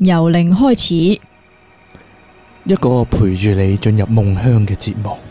由零開始， 一個陪住你進入夢鄉嘅節目。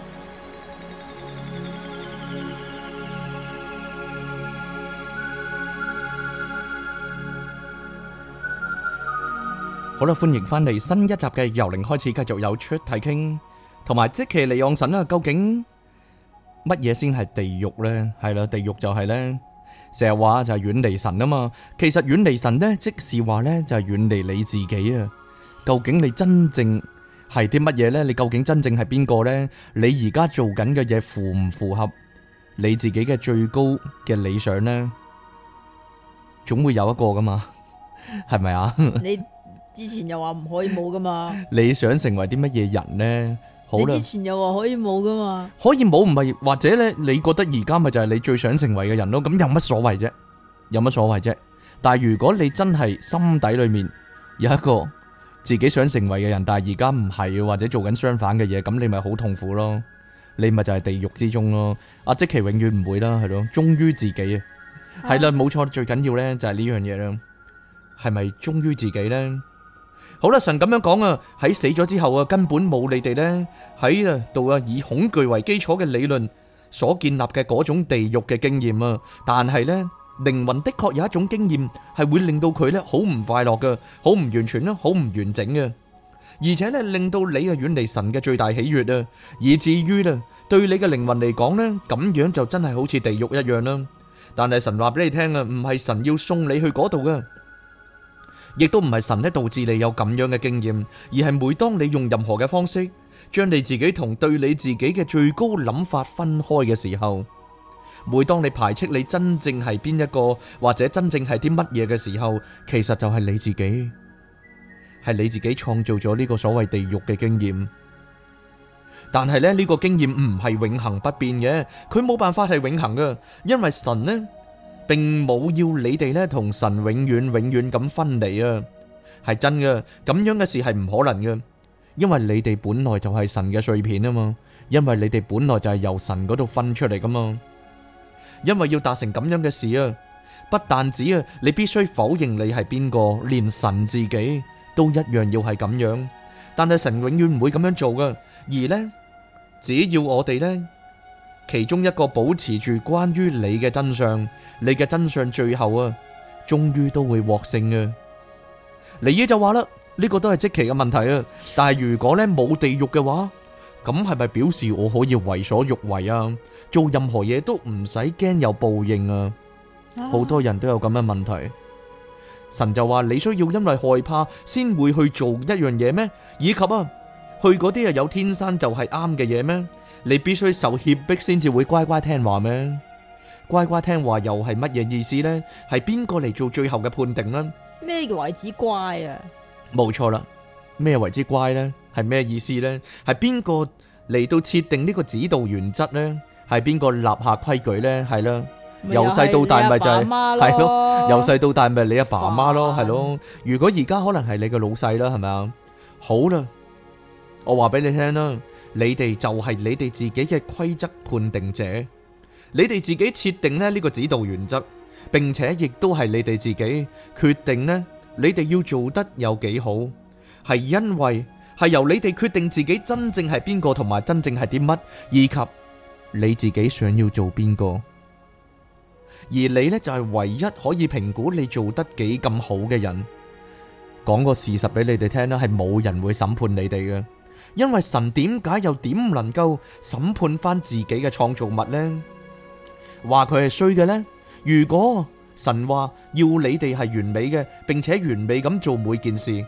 好啦，歡迎翻嚟新一集嘅由零開始，繼續有出題傾，同埋即其利昂神啦。究竟乜嘢先係地獄呢？係啦，地獄就係呢，成日話就係遠離神啊嘛。其實遠離神呢，即是話呢，就係遠離你自己啊。究竟你真正係啲乜嘢呢？你究竟真正係邊個呢？你而家做緊嘅嘢符唔符合你自己嘅最高嘅理想呢？總會有一個噶嘛，係咪啊？ 你之前又話唔可以冇噶嘛？ 你想成為啲乜嘢人呢？好啦， 你之前又話可以冇噶嘛？可以冇唔係，或者咧，你覺得而家咪就係你最想成為嘅人咯？咁有乜所謂啫？有乜所謂啫？但係如果你真係心底裏面有一個自己想成為嘅人，但係而家唔係，或者做緊相反嘅嘢，咁你咪好痛苦咯？你咪就係地獄之中咯？阿即其永遠唔會啦，係咯，忠於自己啊，係啦，冇錯，最緊要咧就係呢樣嘢啦，係咪忠於自己咧？好啦，神咁樣講啊，喺死咗之後啊，根本冇你哋呢喺度啊以恐懼為基礎嘅理論所建立嘅嗰種地獄嘅經驗啊，但係呢，靈魂的確有一種經驗係會令到佢呢好唔快樂嘅，好唔完全啦，好唔完整嘅，而且呢令到你啊遠離神嘅最大喜悅啊，以至於呢對你嘅靈魂嚟講呢，咁樣就真係好似地獄一樣啦。但係神話俾你聽啊，唔係神要送你去嗰度嘅。亦都唔係神咧導致你有咁樣嘅經驗，而係每當你用任何嘅方式將你自己同對你自己嘅最高諗法分開嘅時候，每當你排斥你真正係邊一個或者真正係啲乜嘢嘅時候，其實就係你自己，係你自己創造咗呢個所謂地獄嘅經驗。但係咧呢個經驗唔係永恆不變嘅，佢冇辦法係永恆嘅，因為神呢並冇要你哋咧同神永遠咁分離啊，係真嘅，咁樣嘅事係唔可能嘅，因為你哋本來就係神嘅碎片啊嘛，因為你哋本來就係由神嗰度分出嚟噶嘛，因為要達成咁樣嘅事啊，不但止啊，你必須否認你係邊個，連神自己都一樣要係咁樣，但係神永遠唔會咁樣做噶，而呢，只要我哋呢。其中一個保持住關於你嘅真相，你嘅真相最後啊，終於都會獲勝嘅。尼爾就話啦，呢個都係即期嘅問題啊。但係如果咧冇地獄嘅話，咁係咪表示我可以為所欲為啊？做任何嘢都唔使驚有報應啊？好多人都有咁嘅問題。神就話你需要因為害怕先會去做一樣嘢咩？以及啊，去嗰啲啊有天生就係啱嘅嘢咩？你必須受脅迫先至會乖乖聽話咩？乖乖聽話又係乜嘢意思呢？係邊個嚟做最後嘅判定呢？ 咩叫為之乖啊？ 冇錯啦，咩為之乖呢？係咩意思呢？係邊個嚟到設定呢個指導原則呢？係邊個立下規矩呢？係啦，由細到大咪就係咯，由細到大咪你阿爸阿媽咯，係咯。如果而家可能係你個老細啦，係咪啊？好啦，我話俾你聽啦。你哋就係你哋自己嘅規則判定者，你哋自己設定呢個指導原則，並且亦都係你哋自己決定呢，你哋要做得有幾好，係因為係由你哋決定自己真正係邊個同埋真正係啲乜，以及你自己想要做邊個，而你呢，就係唯一可以評估你做得幾咁好嘅人。講個事實俾你哋聽啦，係冇人會審判你哋嘅。因為神點解又點能夠審判翻自己嘅創造物呢？話佢係衰嘅呢？如果神話要你哋係完美嘅，並且完美咁做每件事，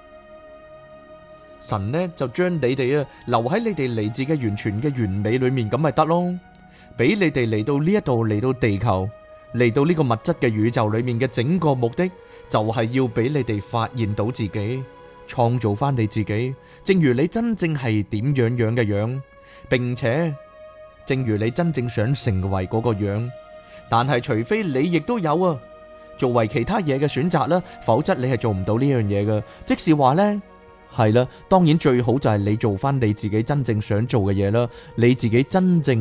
神呢就將你哋啊留喺你哋嚟自嘅完全嘅完美裏面，咁咪得咯？俾你哋嚟到呢一度，嚟到地球，嚟到呢個物質嘅宇宙裏面嘅整個目的，就係要俾你哋發現到自己。創造翻你自己，正如你真正係點樣嘅樣，並且正如你真正想成為嗰個樣。但係除非你亦都有啊，作為其他嘢嘅選擇啦，否則你係做唔到呢樣嘢嘅。即是話呢，係啦，當然最好就係你做翻你自己真正想做嘅嘢啦，你自己真正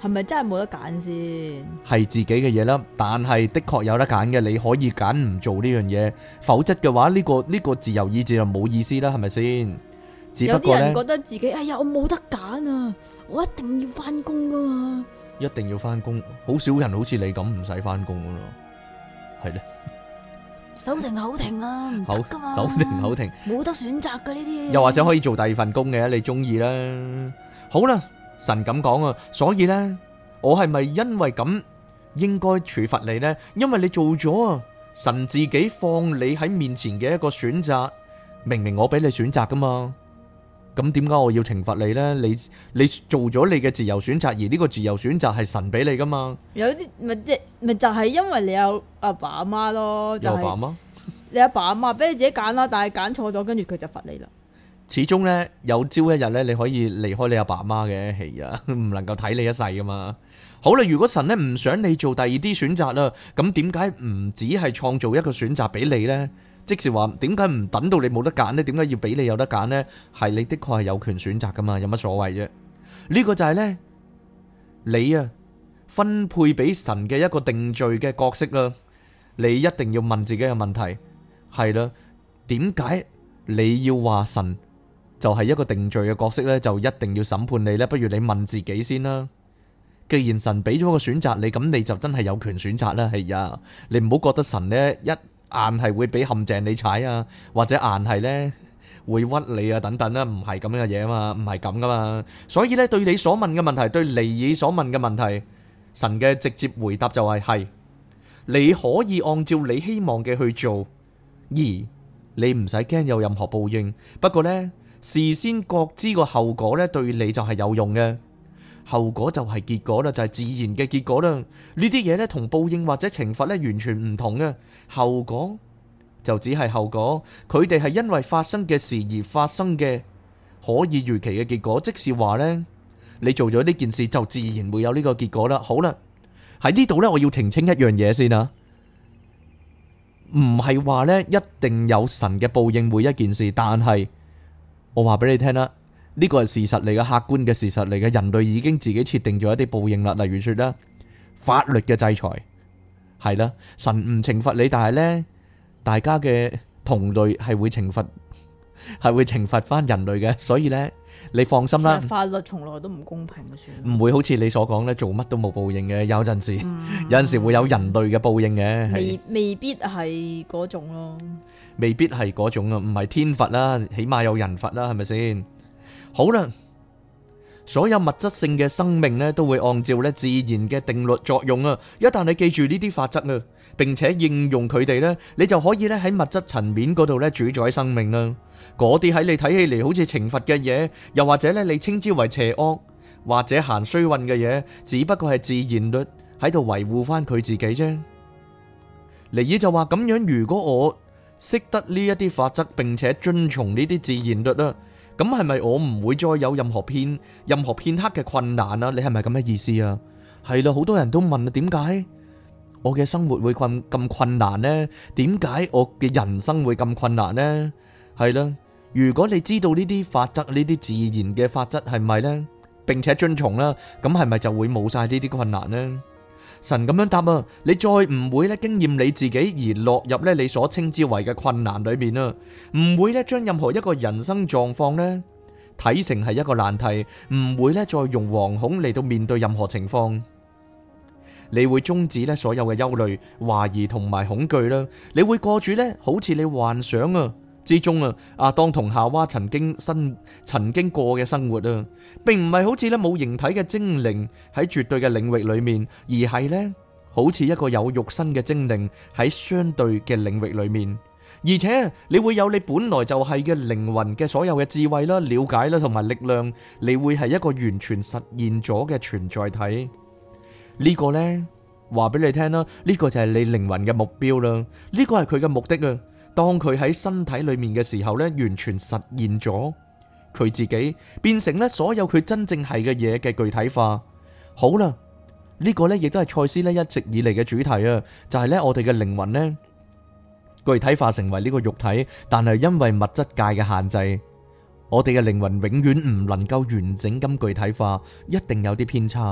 係咪真係冇得揀先？ 係自己嘅嘢啦，但係的確有得揀嘅，你可以揀唔做呢樣嘢，否則嘅話呢個自由意志就冇意思啦，係咪先？只不過呢， 有啲人覺得自己哎呀我冇得揀啊，我一定要翻工噶嘛， 一定要翻工，好少人好似你咁唔使翻工噶咯，係咧， 手停口停啊，唔得噶嘛， 手停口停， 冇得選擇噶呢啲， 又或者可以做第二份工嘅，你中意啦。好啦，神咁講啊，所以呢，我係咪因為咁應該處罰你呢？因為你做咗啊，神自己放你喺面前嘅一個選擇，明明我俾你選擇噶嘛，咁點解我要懲罰你呢？你做咗你嘅自由選擇，而呢個自由選擇係神俾你噶嘛？ 有啲咪就係因為你有阿爸阿媽咯，就係有阿爸媽， 你阿爸阿媽俾你自己揀啦，但係揀錯咗，跟住佢就罰你啦。 始終呢，有朝一日呢，你可以離開你阿爸阿媽嘅，係啊，唔能夠睇你一世噶嘛。好啦，如果神呢唔想你做第二啲選擇啦，咁點解唔只係創造一個選擇俾你呢？即是話，點解唔等到你冇得揀呢？點解要俾你有得揀呢？係你的確係有權選擇噶嘛，有乜所謂啫？呢個就係呢，你啊分配俾神嘅一個定罪嘅角色啦。你一定要問自己嘅問題，係啦，點解你要話神就係一個定罪嘅角色呢？就一定要審判你呢？不如你問自己先啦。既然神俾咗個選擇你，咁你就真係有權選擇啦。係呀，你唔好覺得神呢硬係會俾陷阱你踩啊，或者硬係呢會屈你啊等等啦，唔係咁嘅嘢啊嘛，唔係咁噶嘛。所以呢，對你所問嘅問題，對尼爾所問嘅問題，神嘅直接回答就係你可以按照你希望嘅去做，而你唔使驚有任何報應。不過呢，事先覺知個後果呢，對你就係有用嘅。後果就係結果啦，就係自然嘅結果啦。呢啲嘢呢，同報應或者懲罰呢完全唔同嘅。後果就只係後果，佢哋係因為發生嘅事而發生嘅可以預期嘅結果。即是話呢，你做咗呢件事就自然會有呢個結果啦。好啦，喺呢度呢，我要澄清一樣嘢先啊，唔係話呢一定有神嘅報應每一件事，但係我話俾你聽啦。呢個係事實嚟嘅，客觀嘅事實嚟嘅。人類已經自己設定咗一啲報應啦，例如說啦，法律嘅制裁係啦，神唔懲罰你，但係呢，大家嘅同類係會懲罰翻人類嘅，所以呢，你放心啦。 法律從來都唔公平嘅，算唔會好似你所講呢，做乜都冇報應嘅，有陣時會有人類嘅報應嘅， 未必係嗰種咯， 未必係嗰種啊，唔係天罰啦，起碼有人罰啦，係咪先？好啦，所有物質性嘅生命咧，都會按照咧自然嘅定律作用啊！一旦你記住呢啲法則啊，並且應用佢哋咧，你就可以咧喺物質層面嗰度咧主宰生命啦。嗰啲喺你睇起嚟好似懲罰嘅嘢，又或者咧你稱之為邪惡或者行衰運嘅嘢，只不過係自然律喺度維護翻佢自己啫。尼爾就話咁樣，如果我識得呢一啲法則，並且遵從呢啲自然律啊，咁係咪我唔會再有任何片刻嘅困難啊？你係咪咁嘅意思啊？係啦，好多人都問啊，點解我嘅生活會咁困難呢？點解我嘅人生會咁困難呢？係啦，如果你知道呢啲法則，呢啲自然嘅法則係咪呢？並且遵從啦，咁係咪就會冇晒呢啲困難呢？神咁樣答啊，你再唔會咧經驗你自己而落入咧你所稱之為嘅困難裏面啊，唔會咧將任何一個人生狀況咧睇成係一個難題，唔會咧再用惶恐嚟到面對任何情況。你會終止咧所有嘅憂慮、懷疑同埋恐懼啦，你會過住咧好似你幻想啊之中啊，亞當同夏娃曾經過嘅生活啊，並唔係好似咧冇形體嘅精靈喺絕對嘅領域裏面，而係咧好似一個有肉身嘅精靈喺相對嘅領域裏面，而且你會有你本來就係嘅靈魂嘅所有嘅智慧啦、了解啦同埋力量，你會係一個完全實現咗嘅存在體。呢個呢，話俾你聽啦，呢個就係你靈魂嘅目標啦，呢個係佢嘅目的啊。當佢喺身體裏面嘅時候呢，完全實現咗佢自己，變成呢所有佢真正係嘅嘢嘅具體化。好啦，呢個呢亦都係賽斯呢一直以嚟嘅主題啊，就係呢我哋嘅靈魂呢具體化成為呢個肉體，但係因為物質界嘅限制，我哋嘅靈魂永遠唔能夠完整咁具體化，一定有啲偏差，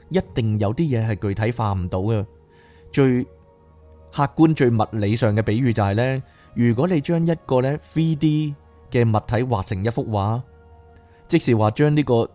一定有啲嘢係具體化唔到嘅。最客觀、最物理上嘅比喻就係呢：如果你將一個呢 3D 嘅物體畫成一幅畫，即是話將呢個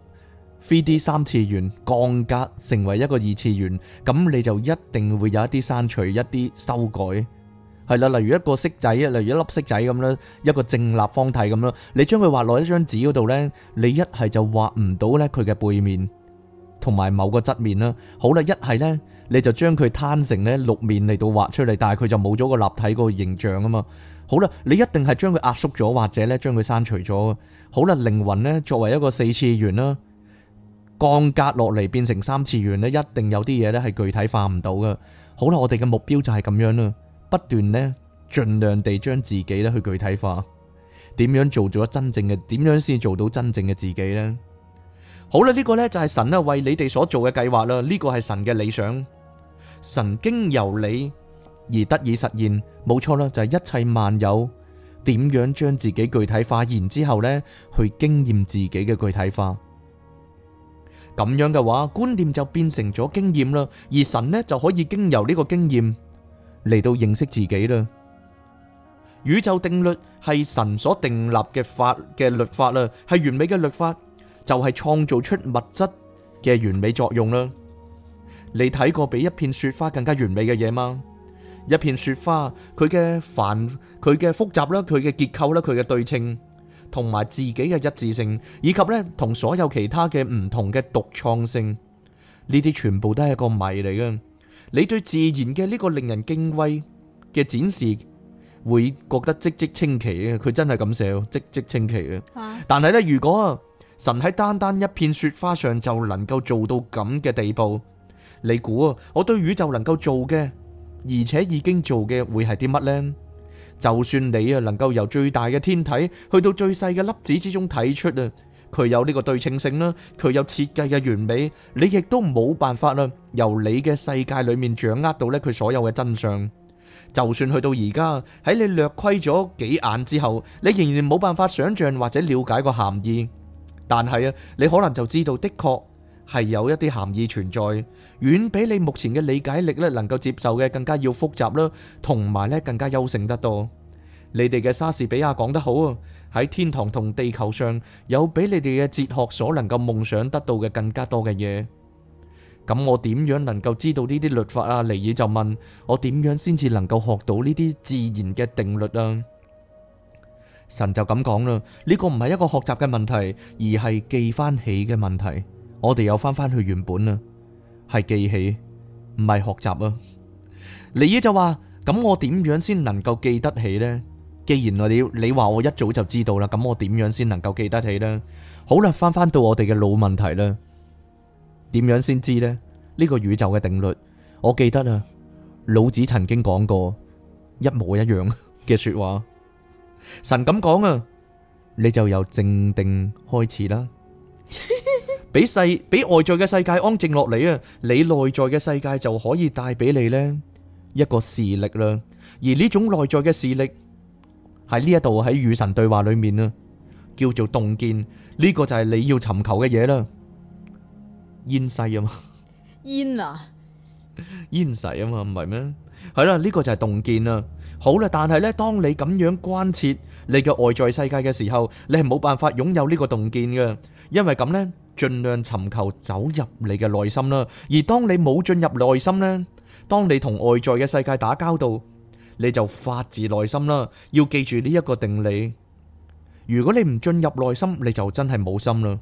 3D 三次元降格成為一個二次元，咁你就一定會有一啲刪除、一啲修改。係啦，例如一個色仔，例如一粒色仔咁啦，一個正立方體咁啦，你將佢畫落一張紙嗰度呢，你一係就畫唔到呢佢嘅背面同埋某個側面啦。好啦，一係呢，你就將佢攤成呢六面嚟到畫出嚟，但係佢就冇咗個立體嗰個形象啊嘛。好啦，你一定係將佢壓縮咗，或者呢將佢刪除咗。好啦，靈魂呢作為一個四次元啦，降格落嚟變成三次元呢，一定有啲嘢呢係具體化唔到噶。好啦，我哋嘅目標就係咁樣啦。不斷呢，盡量地將自己咧去具體化，點樣做咗真正嘅？點樣先做到真正嘅自己呢？好啦，呢個呢就係神啊為你哋所做嘅計劃啦。呢個係神嘅理想，神經由你而得以實現，冇錯啦，就係一切萬有點樣將自己具體化，然之後呢去經驗自己嘅具體化。咁樣嘅話，觀念就變成咗經驗啦，而神呢就可以經由呢個經驗嚟到認識自己啦。宇宙定律係神所訂立嘅法嘅律法啦，係完美嘅律法，就係創造出物質嘅完美作用啦。你睇過比一片雪花更加完美嘅嘢嗎？一片雪花，佢嘅複雜啦，佢嘅結構啦，佢嘅對稱，同埋自己嘅一致性，以及呢同所有其他嘅唔同嘅獨創性，呢啲全部都係一個謎嚟嘅。你對自然嘅呢個令人敬畏嘅展示，會覺得嘖嘖稱奇嘅。佢真係咁寫，嘖嘖稱奇嘅。但係呢，如果神喺單單一片雪花上就能夠做到咁嘅地步，你估啊，我對宇宙能夠做嘅，而且已經做嘅會係啲乜呢？就算你啊能夠由最大嘅天體去到最細嘅粒子之中睇出啊，佢有呢個對稱性啦，佢有設計嘅完美，你亦都冇辦法啦，由你嘅世界裏面掌握到咧佢所有嘅真相。就算去到而家喺你略窺咗幾眼之後，你仍然冇辦法想象或者了解個含義。但係啊，你可能就知道的確係有一啲含義存在，遠比你目前嘅理解力咧能夠接受嘅更加要複雜啦，同埋咧更加優勝得多。你哋嘅莎士比亞講得好啊，喺天堂同地球上有比你哋嘅哲學所能夠夢想得到嘅更加多嘅嘢。咁我點樣能夠知道呢啲律法啊？尼爾就問我點樣先至能夠學到呢啲自然嘅定律啊？神就咁講啦，呢個唔係一個學習嘅問題，而係記翻起嘅問題。我哋又翻返去原本啦，係記起，唔係學習啊。尼爾就話咁我點樣先能夠記得起呢？既然你話我一早就知道啦，咁我點樣先能夠記得起呢？好啦，翻到我哋嘅老問題啦，點樣先知呢？呢個宇宙嘅定律，我記得啊，老子曾經講過一模一樣嘅說話。神咁講啊，你就由靜定開始啦，俾外在嘅世界安靜落嚟啊，你內在嘅世界就可以帶俾你呢一個視力啦。而呢種內在嘅視力喺呢一度喺與神對話裏面啊，叫做洞見。呢個就係你要尋求嘅嘢啦。煙世啊嘛， 煙啊， 煙世啊嘛，唔係咩？係啦，呢個就係洞見啦。好啦，但係呢，當你咁樣關切你嘅外在世界嘅時候，你係冇辦法擁有呢個洞見嘅，因為咁呢，盡量尋求走入你嘅內心啦。而當你冇進入內心呢，當你同外在嘅世界打交道，你就發自內心啦。要記住呢一個定理，如果你唔進入內心，你就真係冇心啦。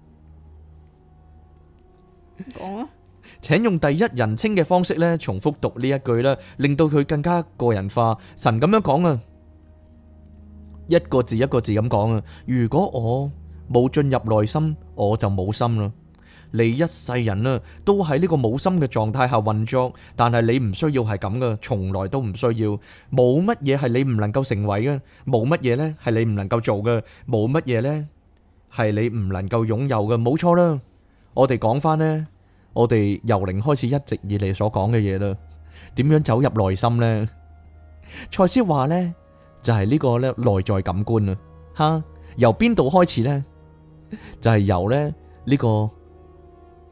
講啊！ 請用第一人稱嘅方式咧，重複讀呢一句啦，令到佢更加個人化。神咁樣講啊，一個字一個字咁講啊。如果我冇進入內心，我就冇心啦。你一世人啊，都喺呢個冇心嘅狀態下運作，但係你唔需要係咁噶，從來都唔需要。冇乜嘢係你唔能夠成為嘅，冇乜嘢呢係你唔能夠做嘅，冇乜嘢呢係你唔能夠擁有嘅。冇錯啦，我哋講翻呢。我哋由零開始一直以嚟所講嘅嘢啦，點樣走入內心呢？賽斯話呢，就係呢個咧內在感官啊，吓，由邊度開始呢？就係由咧呢個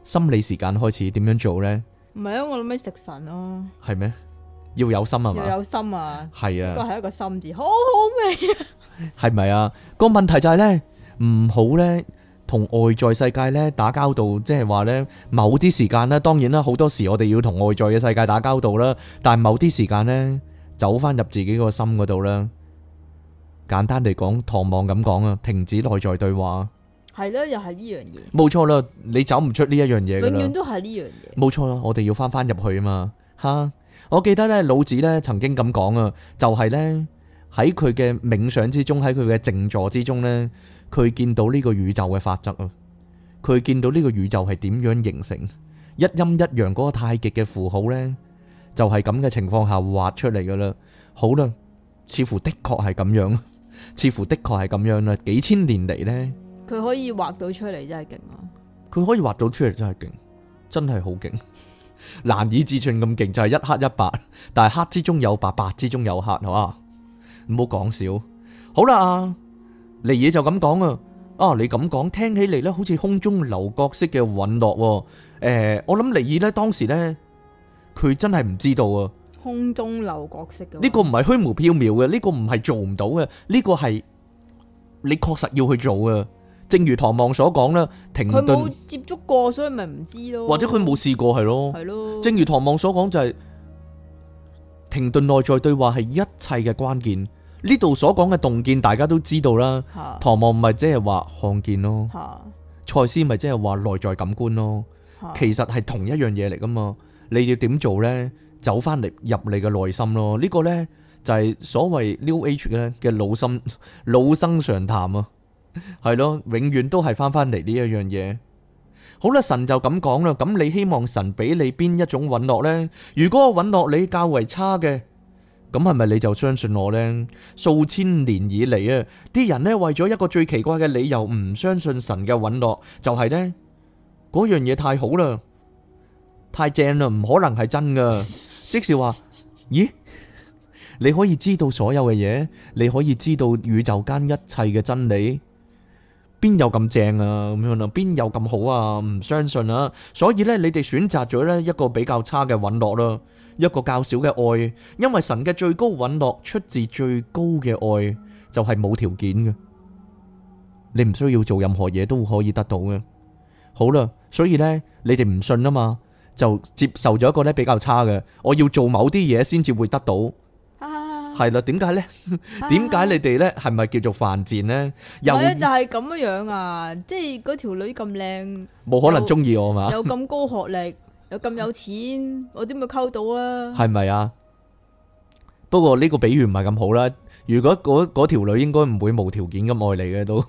心理時間開始點樣做呢？ 唔係啊，我諗起食神咯， 係咩？要有心啊嘛？ 要有心啊， 係呢個啊， 係一個心字，好好味啊！ 係咪啊？個問題就係呢，唔好呢同外在世界呢打交道，即係話呢，某啲時間呢，當然啦，好多時我哋要同外在嘅世界打交道啦，但係某啲時間呢，走翻入自己個心嗰度啦。簡單嚟講，唐望咁講啊，停止內在對話。 係咯，又係呢樣嘢， 冇錯啦，你走唔出呢一樣嘢噶啦。 永遠都係呢樣嘢。 冇錯啦，我哋要翻入去啊嘛。吓，我記得咧，老子咧曾經咁講啊，就係咧喺佢嘅冥想之中，喺佢嘅靜坐之中咧，佢見到呢個宇宙嘅法則啊，佢見到呢個宇宙係點樣形成，一陰一陽嗰個太極嘅符號咧，就係咁嘅情況下畫出嚟噶啦。好啦，似乎的確係咁樣，似乎的確係咁樣啦。幾千年嚟咧， 佢可以畫到出嚟，真係勁啊！ 佢可以畫到出嚟，真係勁，真係好勁。難以置信咁勁，就係一黑一白，但係黑之中有白，白之中有黑，係嘛？唔好講笑。好啦，尼爾就咁講啊。你咁講聽起嚟咧，好似空中樓閣式嘅隕落。我諗尼爾咧當時咧，佢真係唔知道啊。 空中樓閣式嘅呢個唔係虛無縹緲嘅，呢個唔係做唔到嘅，呢個係你確實要去做嘅。正如唐望所講啦，停頓。 佢冇接觸過，所以咪唔知咯。 或者佢冇試過係咯。 係咯。 正如唐望所講就係停頓內在對話係一切嘅關鍵。呢度所講嘅洞見大家都知道啦。唐望咪即係話看見咯。賽斯咪即係話內在感官咯。其實係同一樣嘢嚟噶嘛。你要點做呢？走翻嚟入你嘅內心咯。呢個呢，就係所謂 New Age 嘅老生常談啊。係咯，永遠都係翻嚟呢一樣嘢。好啦，神就咁講啦。咁你希望神俾你邊一種允諾呢？如果我允諾你較為差嘅，咁係咪你就相信我呢？數千年以嚟啊，啲人呢為咗一個最奇怪嘅理由唔相信神嘅允諾，就係呢嗰樣嘢太好啦，太正啦，唔可能係真噶。即是話，咦？你可以知道所有嘅嘢，你可以知道宇宙間一切嘅真理，邊有咁正啊？咁樣啦，邊有咁好啊？唔相信啊！所以咧，你哋選擇咗咧一個比較差嘅允諾啦，一個較少嘅愛，因為神嘅最高允諾出自最高嘅愛，就係冇條件嘅，你唔需要做任何嘢都可以得到嘅。好啦，所以咧，你哋唔信啊嘛，就接受咗一個咧比較差嘅，我要做某啲嘢先至會得到。係啦，點解呢？點解你哋呢？係咪叫做犯賤呢？又就係咁樣啊！即係嗰條女咁靚， 冇可能中意我嘛？ 有咁高學歷，又咁有錢，我點會溝到啊？ 係咪啊？不過呢個比喻唔係咁好啦。如果嗰條女應該唔會無條件咁愛你嘅都。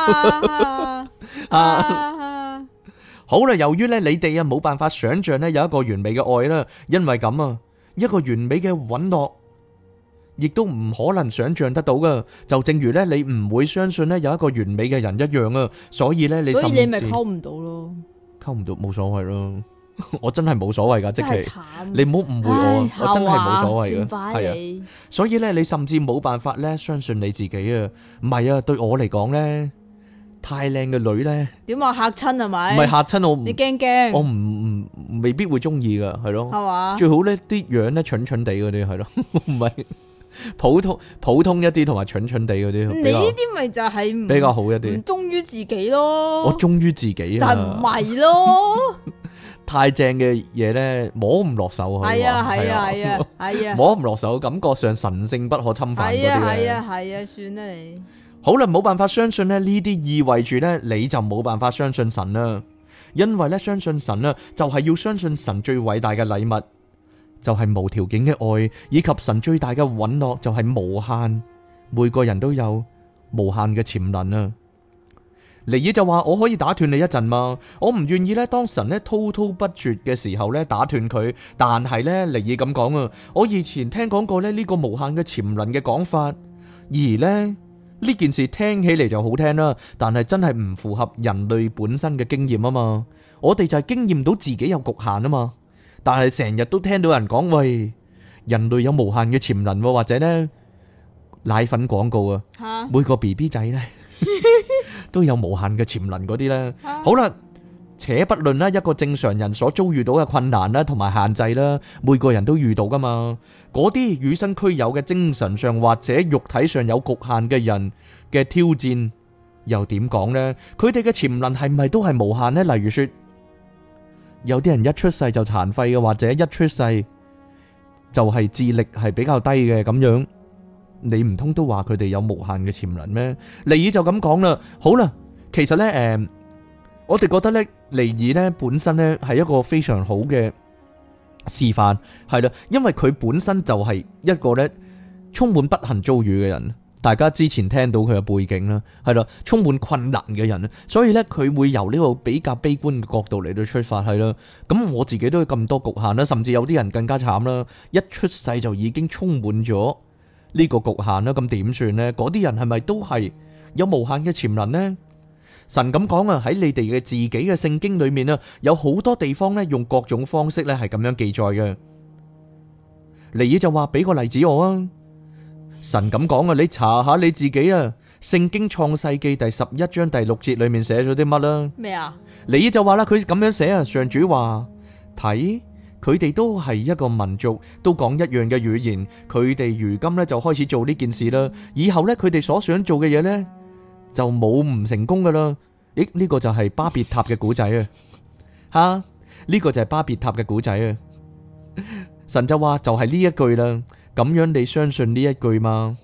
好啦，由於呢你哋啊冇辦法想象呢有一個完美嘅愛啦，因為咁啊，一個完美嘅允諾，亦都唔可能想象得到噶，就正如咧你唔會相信咧有一個完美嘅人一樣啊，所以咧你所以你咪溝唔到咯， 溝唔到冇所謂咯，我真係冇所謂噶，即係慘你唔好誤會我，我真係冇所謂噶， 係啊， 所以咧你甚至冇辦法咧相信你自己啊，唔係啊，對我嚟講咧太靚嘅女咧， 點話嚇親係咪？ 唔係嚇親我， 你驚？ 我唔未必會中意噶，係咯， 係嘛？ 最好咧啲樣咧蠢蠢地嗰啲係咯，唔係。普通一啲同埋蠢蠢地嗰啲， 你呢啲咪就係比較好一啲， 唔忠於自己咯。 我忠於自己啊， 就係唔係咯？ 太正嘅嘢咧，摸唔落手， 係啊係啊係啊係啊， 摸唔落手，感覺上神聖不可侵犯嗰啲咧。 係啊係啊，算啦你。 好啦，冇辦法相信咧，呢啲意味住咧，你就冇辦法相信神啦。因為咧，相信神啊，就係要相信神最偉大嘅禮物。就係無條件嘅愛，以及神最大嘅允諾就係無限，每個人都有無限嘅潛能啊！尼爾就話：我可以打斷你一陣嘛？我唔願意咧，當神咧滔滔不絕嘅時候咧打斷佢。但係咧，尼爾咁講啊，我以前聽講過咧呢個無限嘅潛能嘅講法，而咧呢件事聽起嚟就好聽啦，但係真係唔符合人類本身嘅經驗啊嘛！我哋就係經驗到自己有局限啊嘛。但係成日都聽到人講，喂，人類有無限嘅潛能，或者呢奶粉廣告啊，每個 BB 仔呢都有無限嘅潛能嗰啲呢。好啦， 且不論啦，一個正常人所遭遇到嘅困難啦，同埋限制啦，每個人都遇到噶嘛。嗰啲與生俱有嘅精神上或者肉體上有局限嘅人嘅挑戰，又點講呢？佢哋嘅潛能係咪都係無限呢？例如說，有啲人一出世就殘廢嘅，或者一出世就係智力係比較低嘅咁樣，你唔通都話佢哋有無限嘅潛能咩？尼爾就咁講啦。好啦，其實呢，我哋覺得咧，尼爾咧本身咧係一個非常好嘅示範，係啦，因為佢本身就係一個咧充滿不幸遭遇嘅人。大家之前聽到佢嘅背景啦，係啦，充滿困難嘅人，所以咧佢會由呢個比較悲觀嘅角度嚟到出發，係啦。咁我自己都有咁多局限啦，甚至有啲人更加慘啦，一出世就已經充滿咗呢個局限啦。咁點算呢？嗰啲人係咪都係有無限嘅潛能呢？神咁講啊，喺你哋嘅自己嘅聖經裏面啊，有好多地方咧用各種方式咧係咁樣記載嘅。尼爾就話俾個例子我啊。神咁講啊，你查下你自己啊，聖經創世記第11章第6節裏面寫咗啲乜啦？ 咩啊？ 尼爾就話啦，佢咁樣寫啊，上主話睇佢哋都係一個民族，都講一樣嘅語言，佢哋如今咧就開始做呢件事啦。以後咧佢哋所想做嘅嘢咧，就冇唔成功噶啦。咦？呢個就係巴別塔嘅古仔啊！吓，呢個就係巴別塔嘅古仔啊！神就話就係呢一句啦。咁樣你相信呢一句嗎？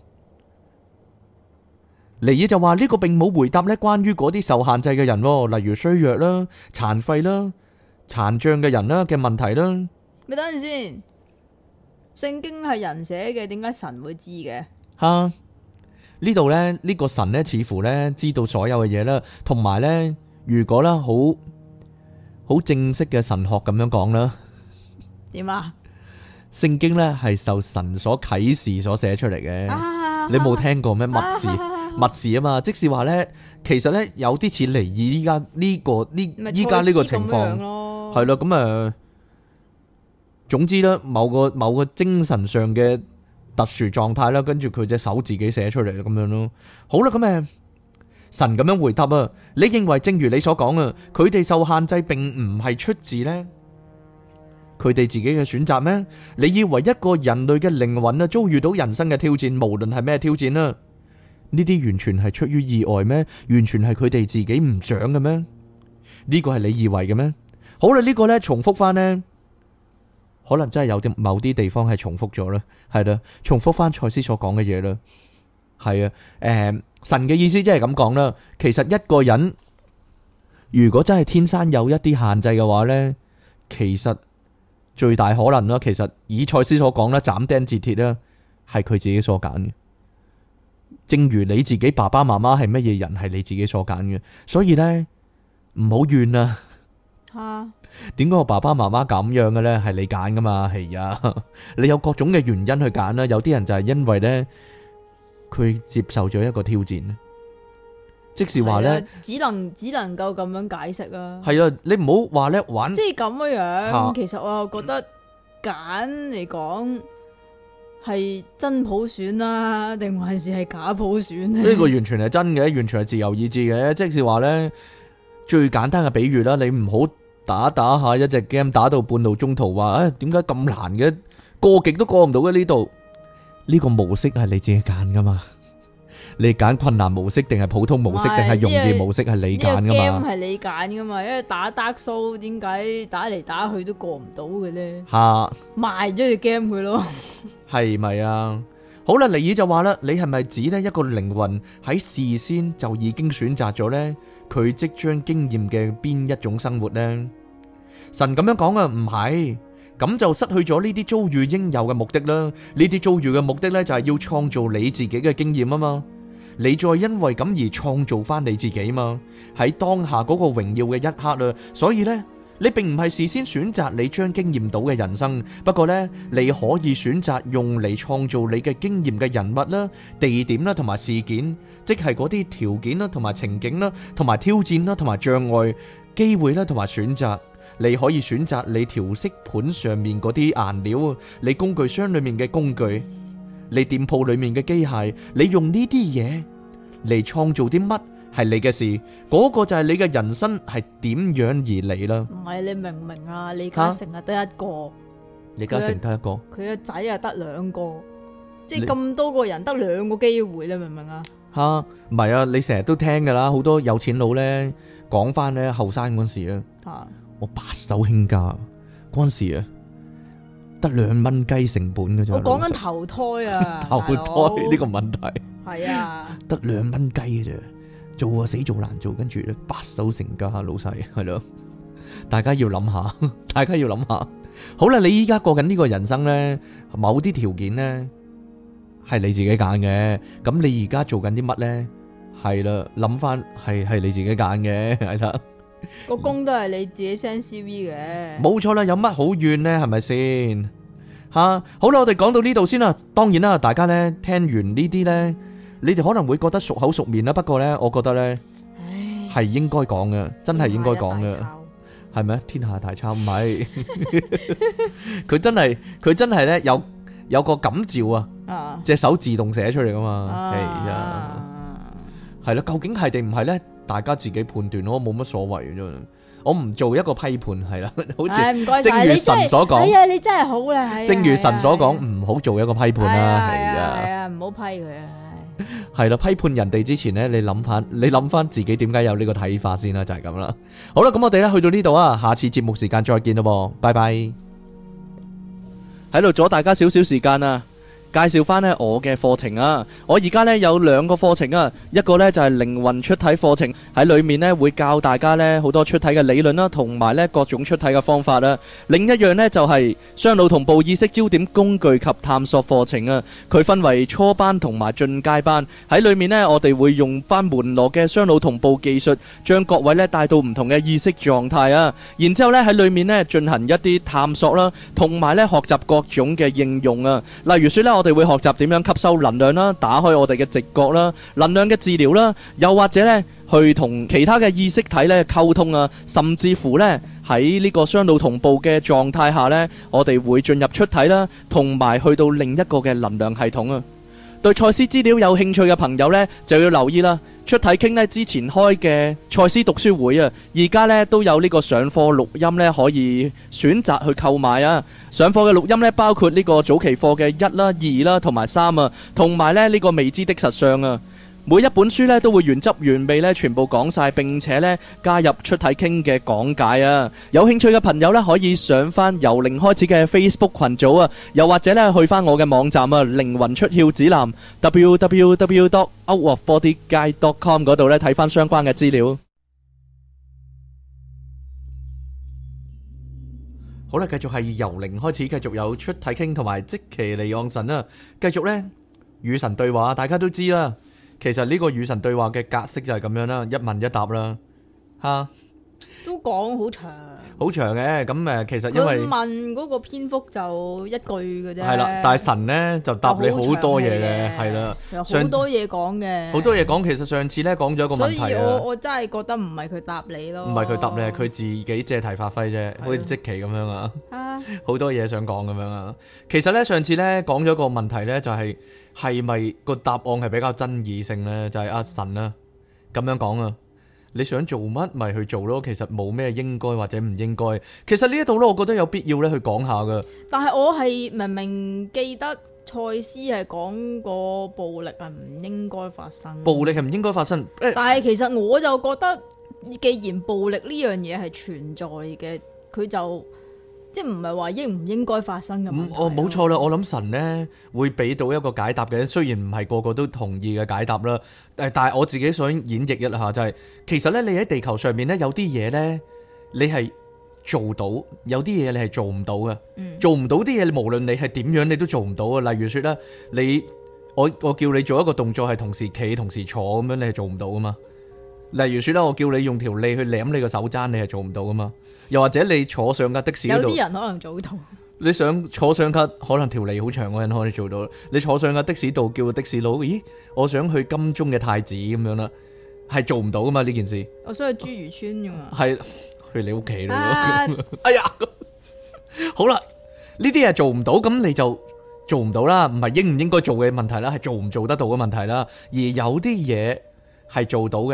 尼爾就話呢個並冇回答咧關於嗰啲受限制嘅人，例如衰弱啦、殘廢啦、殘障嘅人啦嘅問題啦。 咪等陣先，聖經係人寫嘅，點解神會知嘅？ 吓，呢度咧呢個神咧似乎咧知道所有嘅嘢啦，同埋咧如果啦好正式嘅神學咁樣講啦， 點啊？ 聖經咧係受神所啟示所寫出嚟嘅，你冇聽過咩？密示啊嘛，即是話咧，其實咧有啲似尼爾依家呢個情況，係咯，咁總之咧某個精神上嘅特殊狀態啦，跟住佢隻手自己寫出嚟咁樣咯。好啦，咁神咁樣回答啊，你認為正如你所講啊，佢哋受限制並唔係出自呢佢哋自己嘅選擇咩？你以為一個人類嘅靈魂啊遭遇到人生嘅挑戰，無論係咩挑戰啊，呢啲完全係出於意外咩？完全係佢哋自己唔想嘅咩？呢個係你以為嘅咩？好啦，呢個呢重複翻呢，可能真係有啲某啲地方係重複咗啦，係啦，重複翻賽斯所講嘅嘢啦，係啊，神嘅意思即係咁講啦。其實一個人如果真係天生有一啲限制嘅話呢，其實最大可能啦，其實以賽斯所講啦，斬釘截鐵啦，係佢自己所揀嘅。正如你自己爸爸媽媽係乜嘢人，係你自己所揀嘅。所以呢，唔好怨啊。吓，點解我爸爸媽媽咁樣嘅呢？係你揀噶嘛？係啊，你有各種嘅原因去揀啦。有啲人就係因為呢，佢接受咗一個挑戰。即是話咧， 只能夠咁樣解釋啊。 係啊，你唔好話咧玩， 即係咁樣。其實我又覺得揀嚟講係真普選啦，定還是係假普選咧？ 呢個完全係真嘅，完全係自由意志嘅。即是話咧，最簡單嘅比喻啦，你唔好打下一隻 game， 打到半路中途話，點解咁難嘅？過極都過唔到嘅呢度。呢個模式係你自己揀噶嘛？你揀困難模式定係普通模式定係容易模式係你揀噶嘛？呢個 game 係你揀噶嘛？因為打 Dark Souls 點解打嚟打去都過唔到嘅咧？ 吓， 賣咗隻 game 佢咯， 係咪啊？好啦，尼爾就話啦，你係咪指呢一個靈魂喺事先就已經選擇咗呢佢即將經驗嘅邊一種生活呢？神咁樣講啊，唔係，咁就失去咗呢啲遭遇應有嘅目的啦。呢啲遭遇嘅目的呢，就係要創造你自己嘅經驗啊嘛。你再因為咁而創造翻你自己嘛，喺當下嗰個榮耀嘅一刻啦。所以呢，你並唔係事先選擇你將經驗到嘅人生，不過呢，你可以選擇用嚟創造你嘅經驗嘅人物啦、地點啦同埋事件，即係嗰啲條件啦同埋情景啦、同埋挑戰啦同埋障礙、機會啦同埋選擇。你可以選擇你調色盤上面嗰啲顏料，你工具箱裏面嘅工具，你店鋪裏面嘅機械，你用呢啲嘢嚟創造啲乜， 係你嘅事，嗰個就係你嘅人生係點樣而嚟啦。 唔係，你明唔明啊？李嘉誠啊得一個， 李嘉誠得一個， 佢個仔啊得兩個，即係咁多個人得兩個機會，你明唔明啊？ 吓，唔係啊，你成日都聽噶啦，好多有錢佬咧講翻咧後生嗰時啊，我白手興家嗰陣時啊，得2蚊雞成本嘅啫。 我講緊投胎啊， 投胎呢個問題係啊， 得2蚊雞嘅啫，做啊死做難做，跟住咧白手成家老細係咯，大家要諗下，大家要諗下。好啦，你依家過緊呢個人生咧，某啲條件咧。係你自己揀嘅，咁你而家做緊啲乜呢？係啦，諗翻係你自己揀嘅，係啦。 個工都係你自己 send CV 嘅， 冇錯啦，有乜好怨呢？係咪先？吓，好啦，我哋講到呢度先啦。當然啦，大家呢聽完呢啲呢，你哋可能會覺得熟口熟面啦。不過呢，我覺得呢係應該講嘅，真係應該講嘅，係咪？天下大抄唔係，佢真係呢有個感召啊，隻手自動寫出嚟噶嘛，係啊，係啦，究竟係定唔係咧？大家自己判斷咯，冇乜所謂嘅啫。我唔做一個批判，係啦，好似正如神所講， 係啊，你真係好啦， 正如神所講，唔好做一個批判啦，係啊， 唔好批佢啊， 係啦，批判人哋之前咧，你諗翻自己點解有呢個睇法先啦，就係咁啦。好啦，咁我哋咧去到呢度啊，下次節目時間再見咯，拜拜。喺度阻大家少少時間啊！介紹翻呢我嘅課程啊！我而家呢有2個課程啊，一個呢就係靈魂出體課程，喺裏面呢會教大家呢好多出體嘅理論啦，同埋呢各種出體嘅方法啦。另一樣呢就係雙腦同步意識焦點工具及探索課程啊。佢分為初班同埋進階班，喺裏面呢我哋會用翻門羅嘅雙腦同步技術，將各位呢帶到唔同嘅意識狀態啊。然之後呢喺裏面呢進行一啲探索啦，同埋呢學習各種嘅應用啊。例如說呢，我哋會學習點樣吸收能量啦，打開我哋嘅直覺啦，能量嘅治療啦，又或者呢去同其他嘅意識體呢溝通啊，甚至乎呢喺呢個雙腦同步嘅狀態下呢，我哋會進入出體啦，同埋去到另一個嘅能量系統啊。對賽斯資料有興趣嘅朋友呢，就要留意啦。出體傾呢之前開嘅賽斯讀書會啊，而家呢都有呢個上課錄音呢可以選擇去購買啊。上課嘅錄音呢，包括呢個早期課嘅1啦、2啦同埋3啊，同埋呢個未知的實相啊。每一本書呢都會原汁原味呢全部講晒，並且呢加入出體傾嘅講解啊。有興趣嘅朋友呢，可以上翻由零開始嘅 Facebook 群組啊，又或者呢去翻我嘅網站啊，靈魂出竅指南 www.outofbodyguide.com 嗰度呢睇翻相關嘅資料。好啦，繼續係由零開始，繼續有出體傾同埋即其離岸神啊，繼續呢與神對話，大家都知啦。其實呢個與神對話嘅格式就係咁樣啦，一問一答啦，吓都講好長， 好長嘅。咁其實因為佢問嗰個篇幅就一句嘅啫， 係啦，但係神呢就答你好多嘢嘅，係啦， 好多嘢講嘅， 好多嘢講。其實上次呢講咗一個問題啊， 所以我真係覺得唔係佢答你咯， 唔係佢答你，係佢自己借題發揮啫，好似即期咁樣啊，好多嘢想講咁樣啊。其實呢，上次呢講咗個問題呢，就係咪個答案係比較爭議性呢？就係阿神啊咁樣講啊，你想做乜咪去做咯，其實冇咩應該或者唔應該。其實呢一度咧，我覺得有必要咧去講下噶。但係我係明明記得賽斯係講過暴力係唔應該發生，暴力係唔應該發生。但係其實我就覺得，既然暴力呢樣嘢係存在嘅，佢就即係唔係話應唔應該發生嘅問題。冇錯啦，我諗神呢會俾到一個解答嘅，雖然唔係個個都同意嘅解答啦。但係我自己想演繹一下就係，其實呢，你喺地球上面呢，有啲嘢呢，你係做到，有啲嘢你係做唔到嘅。做唔到啲嘢，無論你係點樣，你都做唔到啊。例如說咧，我叫你做一個動作係同時企同時坐咁樣，你係做唔到噶嘛。例如說咧，我叫你用條脷去舐你個手踭，你係做唔到噶嘛。又或者你坐上架的士嗰度，有啲人可能做到。你想坐上架可能條脷好長嘅人可以做到。你坐上架的士度叫個的士佬，咦，我想去金鐘嘅太子咁樣啦，係做唔到噶嘛呢件事。我想去珠漁村噶嘛。係去你屋企咯。哎呀，好啦，呢啲係做唔到，咁你就做唔到啦，唔係應唔應該做嘅問題啦，係做唔做得到嘅問題啦。而有啲嘢係做到嘅。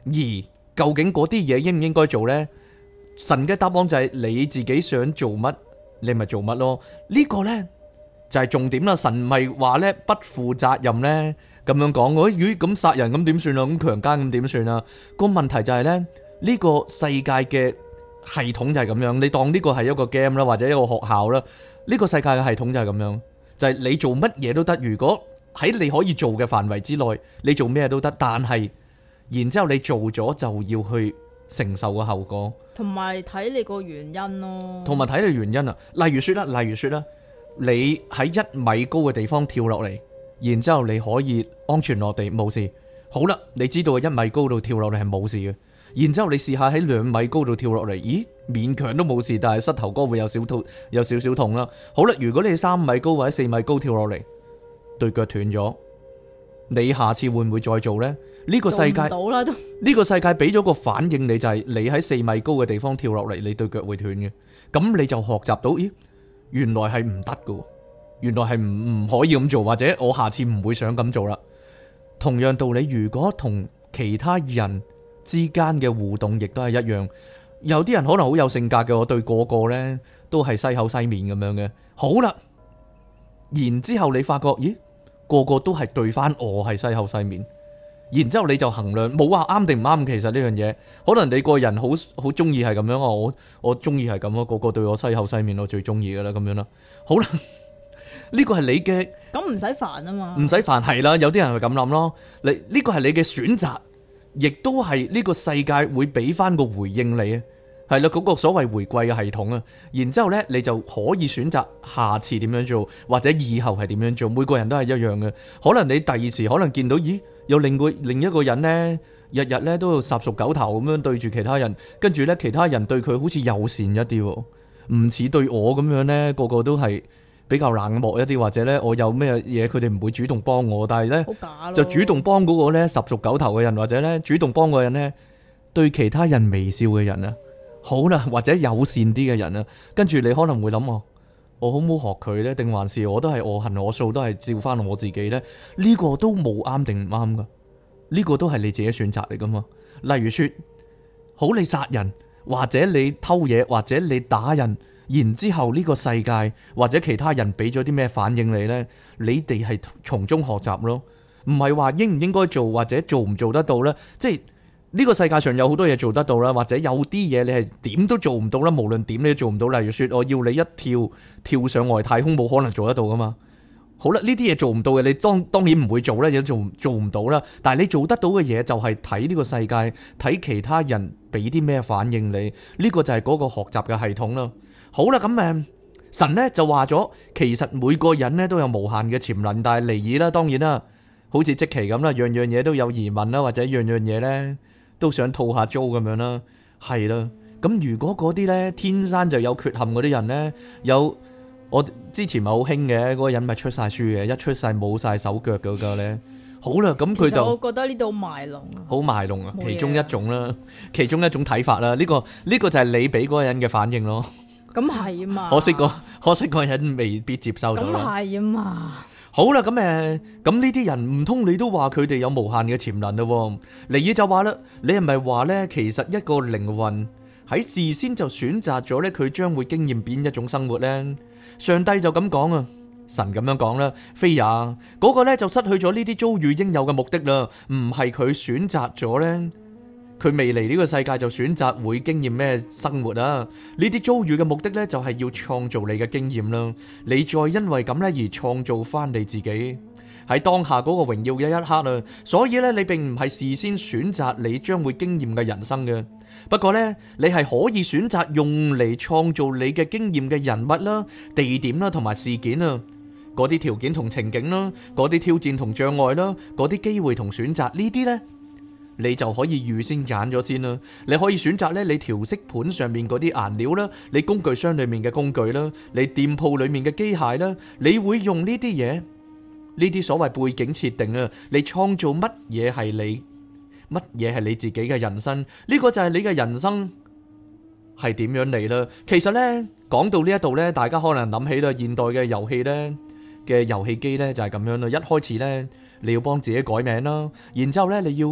而究竟嗰啲嘢應唔應該做呢？神嘅答案就係你自己想做乜，你咪做乜咯。呢個呢，就係重點啦。神唔係話呢不負責任呢咁樣講。咦，咁殺人咁點算啊？咁強姦咁點算啊？個問題就係呢，呢個世界嘅系統就係咁樣。你當呢個係一個 game 啦，或者一個學校啦。呢個世界嘅系統就係咁樣，就係你做乜嘢都得。如果喺你可以做嘅範圍之內，你做咩都得。但係然之後你做咗就要去承受個後果，同埋睇你個原因咯。同埋睇你原因啊。例如說啦，你喺1米高嘅地方跳落嚟，然之後你可以安全落地冇事。好啦，你知道1米高度跳落嚟係冇事嘅。然之後你試下喺2米高度跳落嚟，咦，勉強都冇事，但係膝頭哥會有少少痛啦。好啦，如果你3米高或者4米高跳落嚟，對腳斷咗，你下次會唔會再做呢？呢個世界呢個世界俾咗個反應你，就係你喺4米高嘅地方跳落嚟，你對腳會斷嘅。咁你就學習到，咦，原來係唔得噶，原來係唔可以咁做，或者我下次唔會想咁做啦。同樣道理，如果同其他人之間嘅互動亦都係一樣，有啲人可能好有性格嘅，我對個個呢都係西口西面咁樣嘅。好啦，然之後你發覺，咦，個個都係對翻我係西口西面，然之後你就衡量，冇話啱定唔啱。其實呢樣嘢，可能你個人好中意係咁樣啊，我中意係咁咯，個個對我西口西面，我最中意噶啦，咁樣啦。好啦，呢個係你嘅，咁唔使煩啊嘛，唔使煩係啦。有啲人係咁諗咯，你呢個係你嘅選擇。亦都係呢個世界會俾翻個回應你啊，係啦，嗰個所謂回饋嘅系統啊，然之後呢你就可以選擇下次點樣做，或者以後係點樣做。每個人都係一樣嘅，可能你第二時可能見到，咦，有另一個人呢，日日呢都要十熟九頭咁樣對住其他人，跟住呢其他人對佢好似友善一啲，唔似對我咁樣呢，個個都係比較冷漠一啲，或者呢我有咩嘢佢哋唔會主動幫我，但係呢就主動幫嗰個呢十熟九頭嘅人，或者呢主動幫嗰個人呢對其他人微笑嘅人啊，好啦，或者友善啲嘅人啊，跟住你可能會諗，我好唔好學佢呢？定還是我都係我行我素，都係照翻我自己呢？呢個都冇啱定唔啱噶，呢個都係你自己選擇嚟噶嘛。例如說，好，你殺人，或者你偷嘢，或者你打人。然之後呢個世界或者其他人俾咗啲咩反應你呢？你哋係從中學習咯，唔係話應唔應該做或者做唔做得到呢？即係呢個世界上有好多嘢做得到啦，或者有啲嘢你係點都做唔到啦，無論點你都做唔到。例如說，我要你一跳上外太空，冇可能做得到噶嘛。好啦，呢啲嘢做唔到嘅，你當然唔會做啦，亦都做唔到啦。但係你做得到嘅嘢就係睇呢個世界，睇其他人俾啲咩反應你，呢個就係嗰個學習嘅系統啦。好啦，咁神呢就話咗，其實每個人呢都有無限嘅潛能，但係尼爾啦，當然啦，好似即期咁啦，樣樣嘢都有疑問啦，或者樣樣嘢呢都想套下租咁樣啦，係啦。咁如果嗰啲呢天生就有缺陷嗰啲人呢，我之前咪好興嘅嗰個人咪出晒書嘅，一出世冇晒手腳嗰個呢。好啦，咁佢就我覺得呢度賣弄啊，好賣弄啊，其中一種啦，其中一種睇法啦。呢個就係你俾嗰個人嘅反應咯。咁係啊嘛，可惜嗰個人未必接收到啦。咁係啊嘛。好啦，咁呢啲人唔通你都話佢哋有無限嘅潛能咯？尼爾就話啦，你係咪話呢？其實一個靈魂喺事先就選擇咗呢，佢將會經驗邊一種生活呢？上帝就咁講啊，神咁樣講啦，非也嗰個呢就失去咗呢啲遭遇應有嘅目的啦，唔係佢選擇咗呢。佢未嚟呢個世界就選擇會經驗咩生活啊？呢啲遭遇嘅目的呢，就係要創造你嘅經驗啦。你再因為咁呢而創造翻你自己喺當下嗰個榮耀嘅一刻啊。所以呢，你並唔係事先選擇你將會經驗嘅人生嘅。不過呢，你係可以選擇用嚟創造你嘅經驗嘅人物啦、地點啦同埋事件啊。嗰啲條件同情景啦，嗰啲挑戰同障礙啦，嗰啲機會同選擇呢啲呢，你就可以預先揀咗先啦。你可以選擇咧，你調色盤上面嗰啲顏料啦，你工具箱裏面嘅工具啦，你店鋪裏面嘅機械啦，你會用呢啲嘢，呢啲所謂背景設定啊，你創造乜嘢係你，乜嘢係你自己嘅人生？呢個就係你嘅人生係點樣嚟啦。其實呢，講到呢一度呢，大家可能諗起啦，現代嘅遊戲呢，嘅遊戲機呢就係咁樣啦。一開始呢，你要幫自己改名啦，然之後呢，你要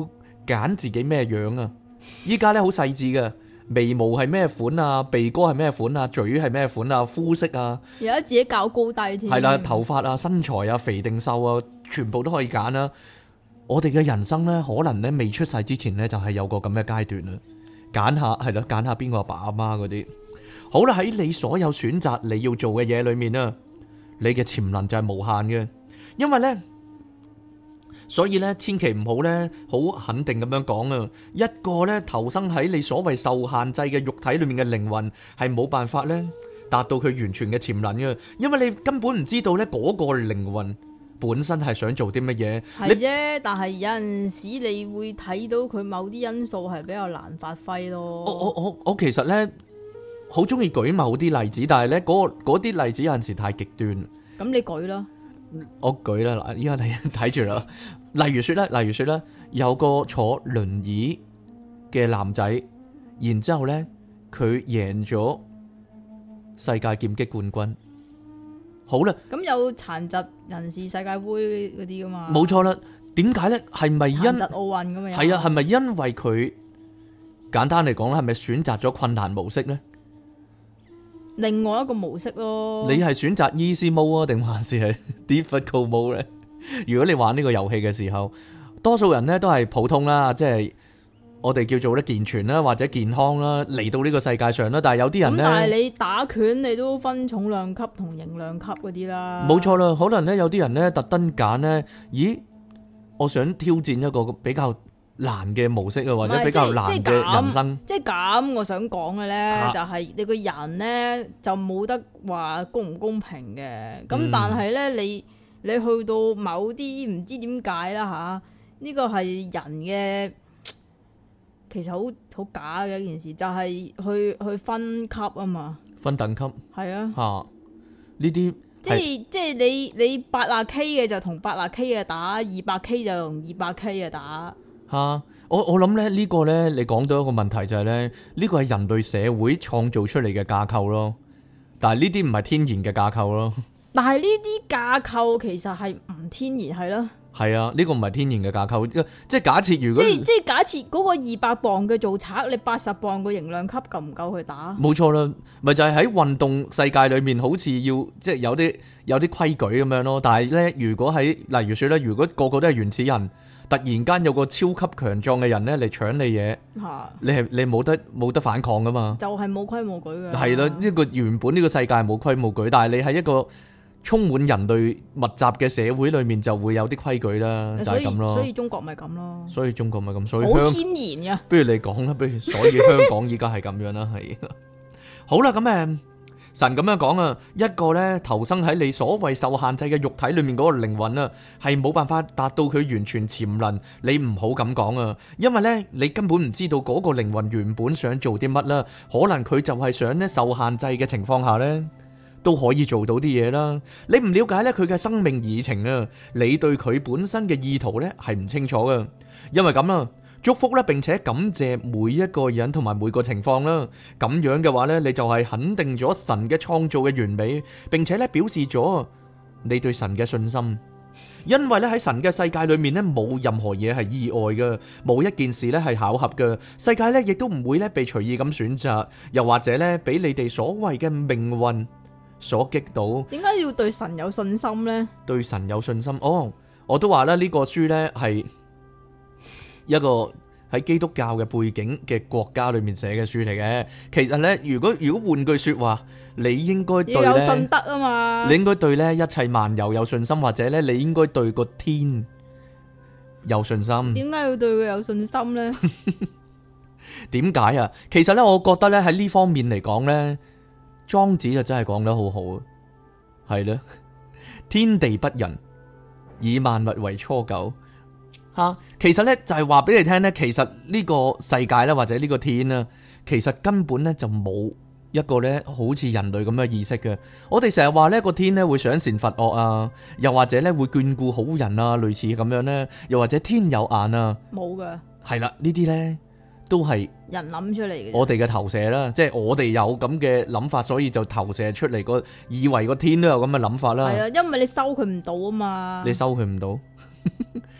揀自己咩樣啊。依家咧好細緻嘅，眉毛係咩款啊，鼻哥係咩款啊，嘴係咩款啊，膚色啊， 而家自己較高低添。 係啦，頭髮啊，身材啊，肥定瘦啊，全部都可以揀啦。我哋嘅人生咧，可能咧未出世之前咧，就係有個咁嘅階段啦。揀下係咯，揀下邊個阿爸阿媽嗰啲。好啦，喺你所有選擇你要做嘅嘢裏面啊，你嘅潛能就係無限嘅，因為咧。所以咧，千祈唔好咧，好肯定咁樣講啊！一個咧投生喺你所謂受限制嘅肉體裏面嘅靈魂，係冇辦法咧達到佢完全嘅潛能嘅，因為你根本唔知道咧嗰個靈魂本身係想做啲乜嘢。 係啫，但係有陣時你會睇到佢某啲因素係比較難發揮咯。 我其實咧好中意舉某啲例子，但係咧嗰啲例子有陣時太極端。 咁你舉啦。 我舉啦，嗱，依家你睇住啦。例如說咧，有個坐輪椅嘅男仔，然之後咧佢贏咗世界劍擊冠軍。好啦， 咁有殘疾人士世界盃嗰啲噶嘛？ 冇錯啦。點解咧？係咪因殘疾奧運咁樣？ 係啊，係咪因為佢簡單嚟講咧，係咪選擇咗困難模式咧？ 另外一個模式咯。 你係選擇 easy mode 啊，定還是係 difficult mode 咧？如果你玩呢個遊戲嘅時候，多數人咧都係普通啦，即係我哋叫做咧健全啦，或者健康啦，嚟到呢個世界上啦。但係有啲人咧， 但係你打拳你都分重量級同輕量級嗰啲啦。 冇錯啦，可能咧有啲人咧特登揀咧，咦，我想挑戰一個比較難嘅模式啊，或者比較難嘅人生。 即係咁，我想講嘅咧，就係你個人咧就冇得話公唔公平嘅。咁但係咧，你去到某啲唔知點解啦吓，呢個係人嘅，其實好假嘅一件事，就係去分級啊嘛。分等級係啊。吓呢啲即係你80K 嘅就同80K 嘅打，200K 就同200K 嘅打。 我諗咧呢個咧，你講到一個問題就係咧，呢個係人類社會創造出嚟嘅架構咯，但係呢啲唔係天然嘅架構咯。但係呢啲架構其實係唔天然係咯。係啊，呢個唔係天然嘅架構，即係假設如果即係假設嗰個200磅嘅做賊，你80磅嘅型量級夠唔夠去打？冇錯啦，咪就係喺運動世界裏面，好似要即係有啲規矩咁樣咯。但係咧，如果喺例如說咧，如果個個都係原始人，突然間有個超級強壯嘅人咧嚟搶你嘢，你冇得反抗噶嘛？就係冇規冇矩嘅。係啦，呢個原本呢個世界係冇規冇矩，但係你喺一個充滿人類密集嘅社會裏面就會有啲規矩啦，就係咁咯。所以中國咪咁咯。所以中國咪咁，所以好天然嘅。不如你講啦，所以香港依家係咁樣啦，係。好啦，咁神咁樣講啊，一個咧投生喺你所謂受限制嘅肉體裏面嗰個靈魂啊，係冇辦法達到佢完全潛能。你唔好咁講啊，因為咧你根本唔知道嗰個靈魂原本想做啲乜啦。可能佢就係想咧受限制嘅情況下咧都可以做到啲嘢啦。你唔了解咧佢嘅生命議程啊，你對佢本身嘅意圖咧係唔清楚噶。因為咁啦。祝福咧，並且感謝每一個人同埋每個情況啦。咁樣嘅話咧，你就係肯定咗神嘅創造嘅完美，並且咧表示咗你對神嘅信心。因為咧喺神嘅世界裏面咧，冇任何嘢係意外嘅，冇一件事咧係巧合嘅。世界咧亦都唔會咧被隨意咁選擇，又或者咧俾你哋所謂嘅命運所擊倒。點解要對神有信心呢？對神有信心，我都話啦，呢個書咧係一個喺基督教嘅背景嘅國家裏面寫嘅書嚟嘅。其實咧，如果換句說話，你應該對要有信德啊嘛。你應該對咧一切萬有有信心，或者咧你應該對個天有信心。點解要對佢有信心咧？點解啊？其實咧，我覺得咧喺呢方面嚟講咧，莊子就真係講得好好啊。係咧，天地不仁，以萬物為芻狗。其實咧就係話俾你聽咧，其實呢個世界咧或者呢個天啦，其實根本咧就冇一個咧好似人類咁嘅意識嘅。我哋成日話呢個天咧會賞善罰惡啊，又或者咧會眷顧好人啊，類似咁樣咧，又或者天有眼啊，冇噶。係啦，呢啲咧都係人諗出嚟嘅，我哋嘅投射啦，即係我哋有咁嘅諗法，所以就投射出嚟個以為個天都有咁嘅諗法啦。係啊，因為你收佢唔到啊嘛，你收佢唔到。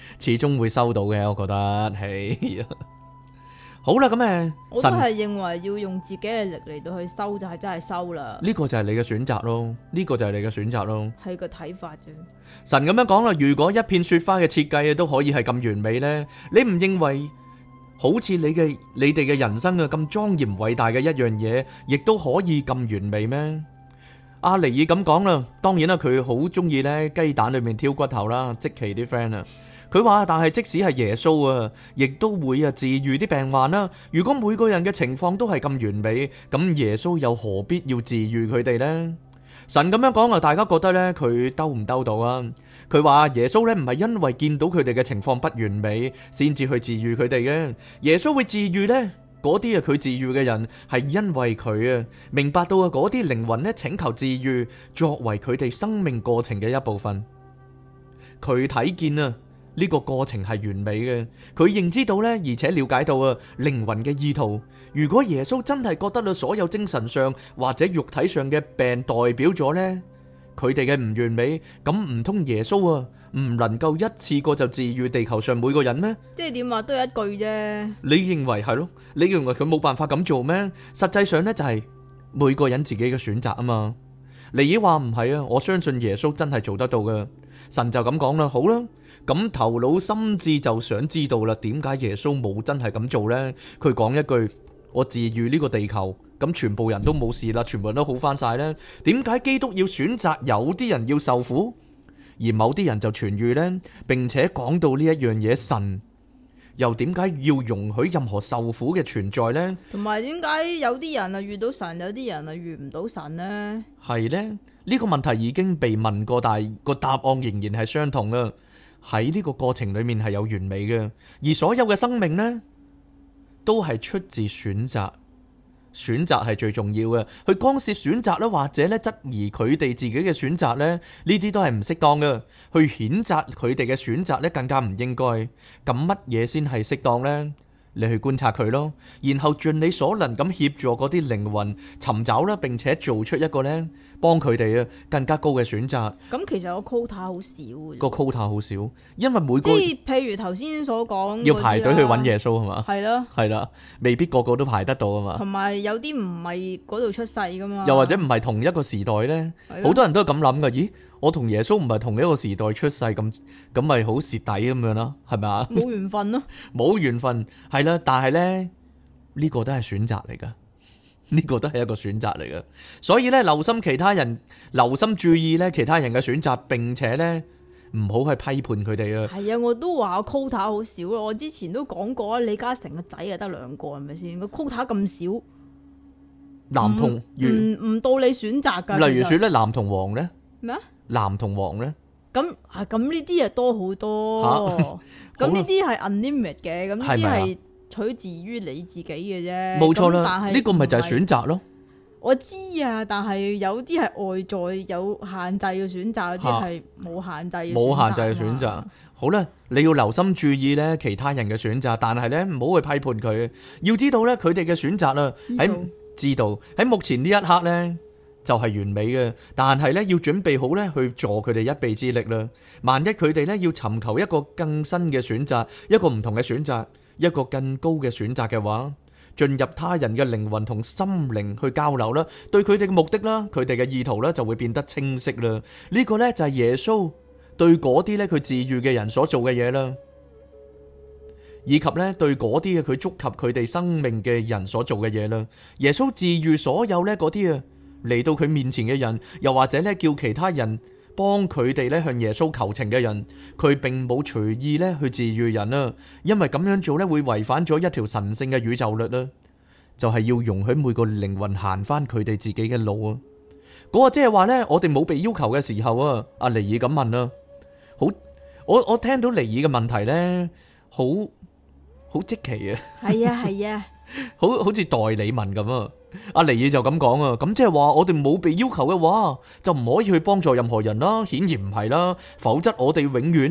始終會收到嘅，我覺得係。好啦，咁我都係認為要用自己嘅力嚟到去收就係真係收啦。 呢個就係你嘅選擇咯，呢個就係你嘅選擇咯。 係個睇法啫。 神咁樣講啦，如果一片雪花嘅設計都可以係咁完美呢，你唔認為好似你哋嘅人生啊咁莊嚴偉大嘅一樣嘢，亦都可以咁完美咩？阿尼爾咁講啦，當然啦，佢好中意呢雞蛋裏面挑骨頭啦，即其啲 friend 啊。佢話，但係即使係耶穌啊，亦都會治癒啲病患啦。如果每個人嘅情況都係咁完美，咁耶穌又何必要治癒佢哋呢？神咁樣講啊，大家覺得呢，佢兜唔兜到啊？佢話耶穌呢唔係因為見到佢哋嘅情況不完美，先至去治癒佢哋嘅。耶穌會治癒呢嗰啲佢治癒嘅人，係因為佢明白到嗰啲靈魂呢請求治癒，作為佢哋生命過程嘅一部分。佢睇見呢個過程係完美嘅，佢認知到呢，而且了解到靈魂嘅意圖。如果耶穌真係覺得所有精神上或者肉體上嘅病代表咗呢佢哋嘅唔完美，咁唔通耶穌唔能夠一次過就治癒地球上每個人咩？ 即係點話都有一句啫。 你認為係咯？你認為佢冇辦法咁做咩？實際上呢，就係每個人自己嘅選擇啊嘛。尼爾話唔係啊，我相信耶穌真係做得到嘅。神就咁講啦，好啦，咁頭腦心智就想知道啦，點解耶穌冇真係咁做呢？佢講一句，我治癒呢個地球，咁全部人都冇事啦，全部人都好翻晒呢？點解基督要選擇有啲人要受苦，而某啲人就痊癒呢？並且講到呢一樣嘢，神又點解要容許任何受苦嘅存在呢？ 同埋點解有啲人遇到神，有啲人遇唔到神呢？ 係呢？呢個問題已經被問過，但係個答案仍然係相同啊！喺呢個過程裏面係有完美嘅，而所有嘅生命呢，都係出自選擇。選擇係最重要嘅，去干涉選擇咧，或者咧質疑佢哋自己嘅選擇咧，呢啲都係唔適當嘅。去譴責佢哋嘅選擇咧，更加唔應該。咁乜嘢先係適當呢？你去觀察佢咯，然後盡你所能咁協助嗰啲靈魂尋找啦，並且做出一個呢幫佢哋更加高嘅選擇。 咁其實個 quota 好少嘅， 個 quota 好少，因為每個即係譬如頭先所講要排隊去揾耶穌係嘛？ 係咯， 係啦，未必個個都排得到啊嘛。同埋有啲唔係嗰度出世噶嘛， 又或者唔係同一個時代呢，好多人都係咁諗噶。咦，我同耶穌唔係同一個時代出世，咁咪好蝕底咁樣啦，係咪啊？ 冇緣分咯， 冇緣分係啦，但係呢，呢個都係選擇嚟噶，呢個都係一個選擇嚟噶。所以呢，留心其他人，留心注意呢其他人嘅選擇，並且呢唔好去批判佢哋啊。 係啊，我都話 quota 好少咯。我之前都講過啊，李嘉誠個仔啊得2個，係咪先？個 quota 咁少， 男同唔到你選擇噶。 例如說咧，藍同黃呢？ 咩啊？ 藍同黃呢？ 咁呢啲啊多好多，咁呢啲係 unlimited 嘅，咁呢啲係取自於你自己嘅啫。 冇錯啦，呢個咪就係選擇咯。 我知啊，但係有啲係外在有限制嘅選擇，有啲係冇限制嘅選擇。 冇限制嘅選擇。好啦，你要留心注意咧其他人嘅選擇，但係咧唔好去批判佢。要知道咧佢哋嘅選擇啦，喺目前呢一刻咧就係完美嘅，但係咧要準備好咧去助佢哋一臂之力啦。萬一佢哋咧要尋求一個更新嘅選擇，一個唔同嘅選擇，一個更高嘅選擇嘅話，進入他人嘅靈魂同心靈去交流啦，對佢哋嘅目的啦，佢哋嘅意圖啦就會變得清晰啦。呢個咧就係耶穌對嗰啲咧佢治癒嘅人所做嘅嘢啦，以及咧對嗰啲佢觸及佢哋生命嘅人所做嘅嘢啦。耶穌治癒所有咧嗰啲嚟到佢面前嘅人，又或者咧叫其他人幫佢哋咧向耶穌求情嘅人，佢並冇隨意咧去治癒人啊，因為咁樣做咧會違反咗一條神聖嘅宇宙律啦，就係要容許每個靈魂行翻佢哋自己嘅路啊。嗰個即係話咧，我哋冇被要求嘅時候啊，阿尼爾咁問啊，好，我聽到尼爾嘅問題咧，好積奇啊， 係啊， 好似代理問咁啊。阿尼爾就咁講啊，咁即係話我哋冇被要求嘅話，就唔可以去幫助任何人啦，顯然唔係啦，否則我哋永遠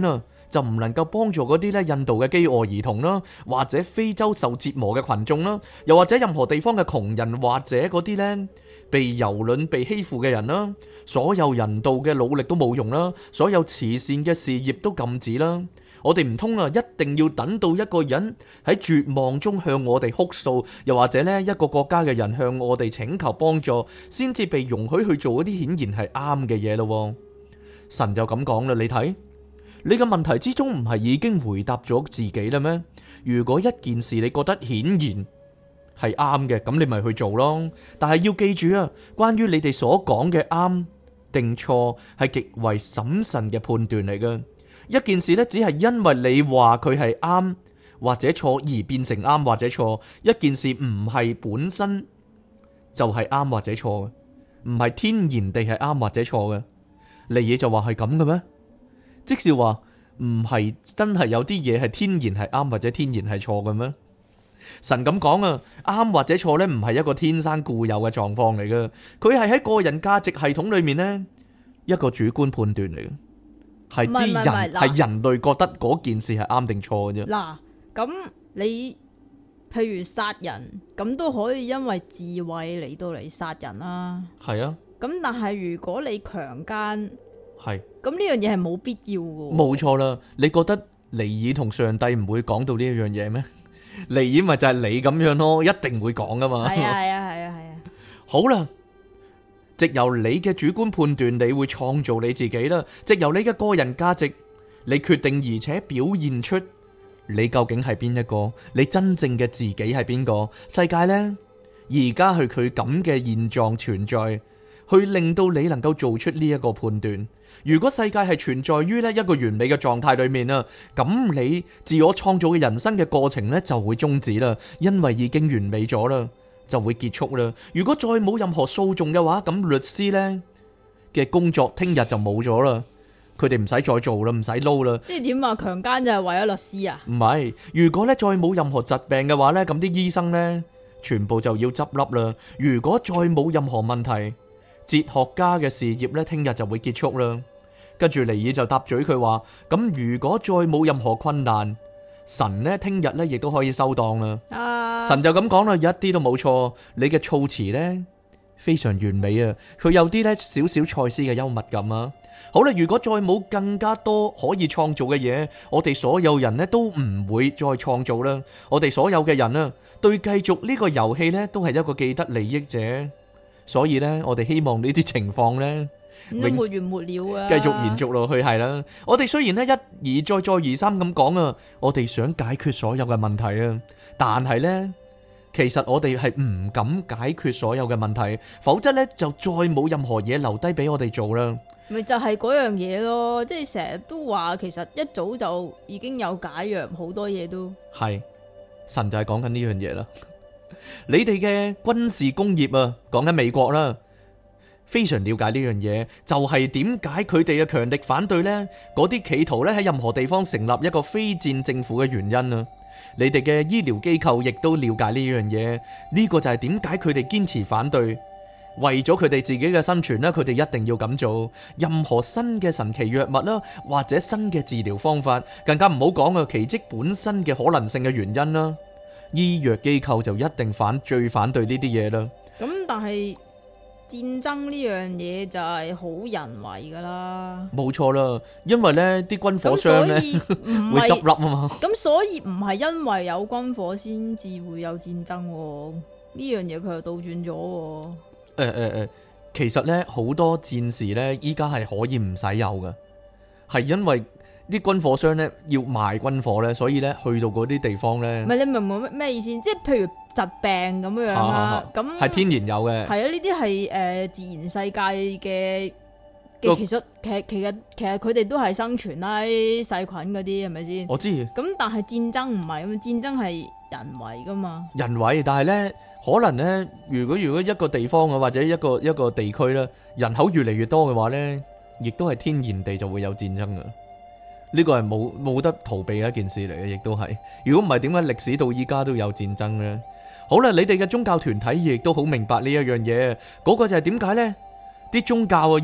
就唔能夠幫助嗰啲咧印度嘅飢餓兒童啦，或者非洲受折磨嘅群眾啦，又或者任何地方嘅窮人，或者嗰啲咧被蹂躪、被欺負嘅人啦。所有人道嘅努力都冇用啦，所有慈善嘅事業都禁止啦。我哋唔通啊，一定要等到一個人喺絕望中向我哋哭訴，又或者呢一個國家嘅人向我哋請求幫助，先至被容許去做一啲顯然係啱嘅嘢咯。神就咁講啦，你睇，你嘅問題之中唔係已經回答咗自己啦咩？如果一件事你覺得顯然係啱嘅，咁你咪去做咯。但係要記住啊，關於你哋所講嘅啱定錯，係極為審慎嘅判斷嚟嘅。一件事呢，只係因為你話佢係啱或者錯而變成啱或者錯。一件事唔係本身就係啱或者錯嘅，唔係天然地係啱或者錯嘅。尼爾就話係咁嘅咩？即是話唔係真係有啲嘢係天然係啱或者天然係錯嘅咩？神咁講啊，啱或者錯呢，唔係一個天生固有嘅狀況嚟嘅，佢係喺個人價值系統裏面呢，一個主觀判斷嚟嘅。係啲人係人類覺得嗰件事係啱定錯嘅啫。嗱， 咁你譬如殺人，咁都可以因為智慧嚟到嚟殺人啦。 係啊。 咁但係如果你強姦， 係咁呢樣嘢係冇必要嘅。 冇錯啦，你覺得尼爾同上帝唔會講到呢一樣嘢咩？尼爾咪就係你咁樣咯，一定會講噶嘛。係啊係啊係啊係啊。好啦。藉由你嘅主觀判斷，你會創造你自己啦。藉由你嘅個人價值，你決定而且表現出你究竟係邊一個，你真正嘅自己係邊個。世界呢，而家係佢咁嘅現狀存在，去令到你能夠做出呢一個判斷。如果世界係存在於呢一個完美嘅狀態裏面啊，咁你自我創造嘅人生嘅過程呢就會終止啦，因為已經完美咗啦。就會結束啦。如果再冇任何訴訟嘅話，咁律師呢嘅工作聽日就冇咗啦。佢哋唔使再做啦，唔使撈啦。即係點啊？強姦就係為咗律師啊？唔係，如果呢再冇任何疾病嘅話呢，咁啲醫生呢全部就要執笠啦。如果再冇任何問題，哲學家嘅事業呢聽日就會結束啦。跟住尼爾就答嘴佢話：咁如果再冇任何困難，神呢聽日呢亦都可以收檔啦。神就咁講啦，一啲都冇錯。你嘅措辭呢非常完美啊，佢有啲呢少少賽斯嘅幽默感啊。好啦，如果再冇更加多可以創造嘅嘢，我哋所有人呢都唔會再創造啦。我哋所有嘅人啊，對繼續呢個遊戲呢都係一個既得利益者，所以呢我哋希望呢啲情況呢沒完沒了啊， 繼續延續落去係啦。我哋雖然呢一而再再而三咁講啊，我哋想解決所有嘅問題啊，但係呢其實我哋係唔敢解決所有嘅問題，否則呢就再冇任何嘢留低俾我哋做啦。 咪就係嗰樣嘢咯，即係成日都話其實一早就已經有解藥，好多嘢都係神就係講緊呢樣嘢啦。你哋嘅軍事工業啊，講緊美國啦，非常了解呢樣嘢，就係點解佢哋嘅強力反對呢？嗰啲企圖咧喺任何地方成立一個非戰政府嘅原因啊！你哋嘅醫療機構亦都了解呢樣嘢，呢個就係點解佢哋堅持反對。為咗佢哋自己嘅生存咧，佢哋一定要咁做。任何新嘅神奇藥物啦，或者新嘅治療方法，更加唔好講啊奇蹟本身嘅可能性嘅原因啦。醫藥機構就一定最反對呢啲嘢啦。 咁但係戰爭呢樣嘢就係好人為噶啦，冇錯啦，因為呢啲軍火商呢會執笠啊嘛。 咁所以唔係因為有軍火先至會有戰爭，呢樣嘢佢又倒轉咗。 其實呢好多戰士呢依家係可以唔使有嘅，係因為啲軍火商呢要賣軍火呢，所以呢去到嗰啲地方呢， 唔係，你明唔明咩意思？即係譬如疾病咁樣啦，咁係天然有嘅。 係啊，呢啲係自然世界嘅，其實佢哋都係生存啦，細菌嗰啲係咪先？ 我知。 咁但係戰爭唔係咁，戰爭係人為噶嘛。 人為，但係呢可能呢，如果一個地方啊，或者一個地區啦，人口越嚟越多嘅話呢，亦都係天然地就會有戰爭噶。呢個係冇得逃避嘅一件事嚟嘅，亦都係。如果唔係，點解歷史到依家都有戰爭呢？好啦，你哋嘅宗教團體亦都好明白呢一樣嘢，嗰個就係點解呢？啲宗教啊一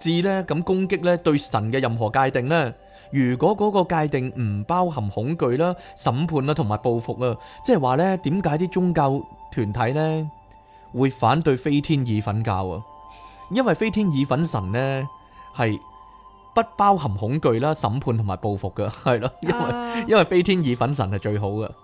致咧咁攻擊咧對神嘅任何界定咧。如果嗰個界定唔包含恐懼啦、審判啦同埋報復啊，即係話咧點解啲宗教團體咧會反對飛天意粉教啊？因為飛天意粉神咧係不包含恐懼啦、審判同埋報復噶，係咯，因為飛天意粉神係最好噶。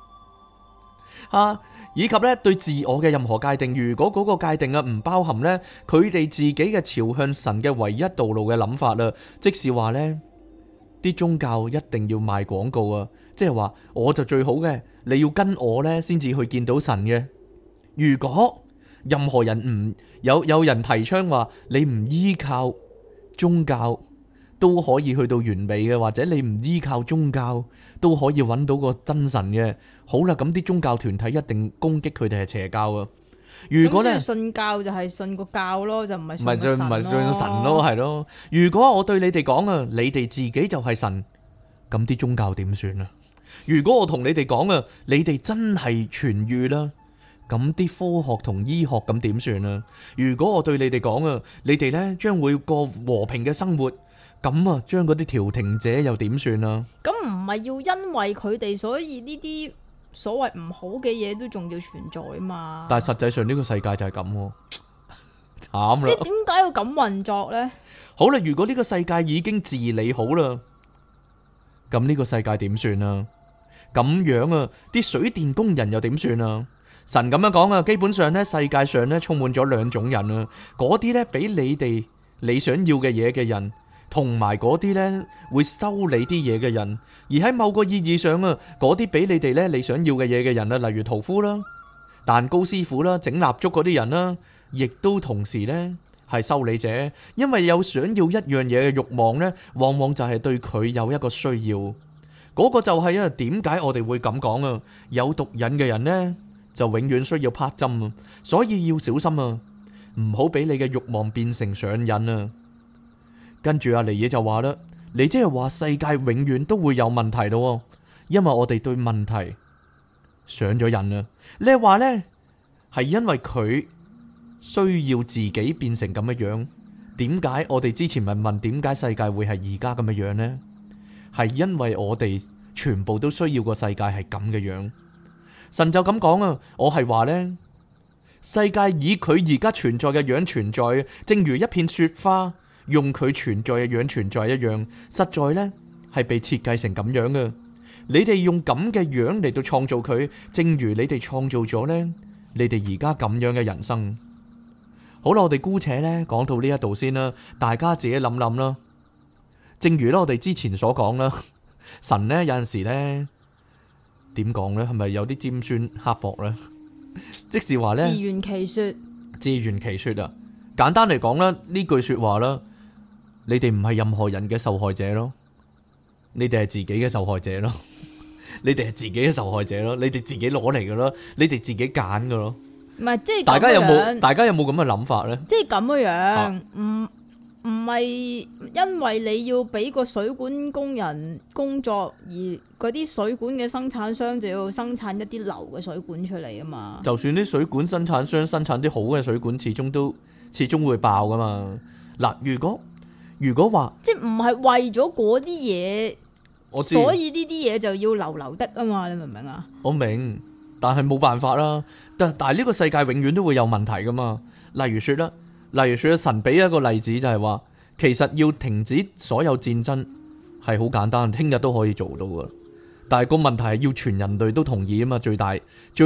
以及咧對自我嘅任何界定，如果嗰個界定啊唔包含咧佢哋自己嘅朝向神嘅唯一道路嘅諗法啦，即是話咧啲宗教一定要賣廣告啊，即係話我就最好嘅，你要跟我咧先至去見到神嘅。如果任何人唔有人提倡話你唔依靠宗教都可以去到完美嘅，或者你唔依靠宗教都可以揾到個真神嘅，好啦，咁啲宗教團體一定攻擊佢哋係邪教啊。如果咧信教就係信個教咯，就唔係信個神咯。 唔係信神咯，係咯。如果我對你哋講啊，你哋自己就係神，咁啲宗教點算啊？如果我同你哋講啊，你哋真係痊愈啦，咁啲科學同醫學咁點算啊？如果我對你哋講啊，你哋呢將會過和平嘅生活，咁啊，將嗰啲調停者又點算啊？ 咁唔係要因為佢哋，所以呢啲所謂唔好嘅嘢都仲要存在啊嘛？ 但係實際上呢個世界就係咁，慘啦！ 即係點解要咁運作呢？ 好啦，如果呢個世界已經治理好啦，咁呢個世界點算啊？咁樣啊，啲水電工人又點算啊？神咁樣講啊，基本上呢，世界上呢充滿咗兩種人啊，嗰啲呢俾你哋你想要嘅嘢嘅人，同埋嗰啲呢會收你啲嘢嘅人。而喺某個意義上啊，嗰啲俾你哋呢你想要嘅嘢嘅人啊，例如屠夫啦、蛋糕師傅啦、整蠟燭嗰啲人啦，亦都同時呢係修理者，因為有想要一樣嘢嘅慾望呢，往往就係對佢有一個需要。嗰個就係點解我哋會咁講啊？有毒癮嘅人呢，就永遠需要拍針啊，所以要小心啊，唔好俾你嘅慾望變成上癮啊。跟住阿尼爾就話啦，你即係話世界永遠都會有問題咯，因為我哋對問題上咗癮啊。你係話呢，係因為佢需要自己變成咁嘅樣？點解我哋之前咪問點解世界會係而家咁嘅樣呢？係因為我哋全部都需要個世界係咁嘅樣。神就咁講啊，我係話呢，世界以佢而家存在嘅樣存在，正如一片雪花用佢存在嘅樣存在一樣，實在呢係被設計成咁樣嘅。你哋用咁嘅樣嚟到創造佢，正如你哋創造咗呢，你哋而家咁樣嘅人生。好啦，我哋姑且呢講到呢一度先啦，大家自己諗諗啦。正如咧我哋之前所講啦，神呢有陣時呢點講呢？係咪有啲尖酸刻薄呢？即是話呢，自圓其說啊！簡單嚟講啦，呢句說話啦，你哋唔係任何人嘅受害者咯，你哋係自己嘅受害者咯，你哋係自己嘅受害者咯，你哋自己攞嚟嘅咯，你哋自己揀嘅咯。唔係即係大家有冇咁嘅諗法呢？即係咁嘅樣，唔係因為你要俾個水管工人工作，而嗰啲水管嘅生產商就要生產一啲流嘅水管出嚟啊嘛。就算啲水管生產商生產啲好嘅水管，始終會爆噶嘛。嗱，如果話即係唔係為咗嗰啲嘢，所以呢啲嘢就要流流的啊嘛。你明唔明啊？我明，但係冇辦法啦。但係呢個世界永遠都會有問題噶嘛。例如說神俾一個例子就係話，其實要停止所有戰爭係好簡單，聽日都可以做到噶。但係個問題係要全人類都同意啊嘛，最大嘅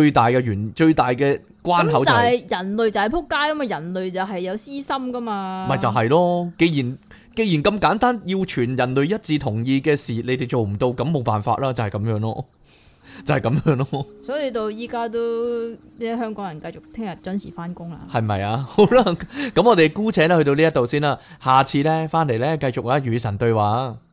關口就係人類就係撲街啊嘛，人類就係有私心噶嘛。咪就係咯，既然咁簡單，要全人類一致同意嘅事，你哋做唔到，咁冇辦法啦，就係咁樣咯。就係咁樣咯，所以到依家都啲香港人繼續聽日準時翻工啦，係咪啊？好啦，咁我哋姑且咧去到呢一度先啦，下次咧翻嚟咧繼續與神對話。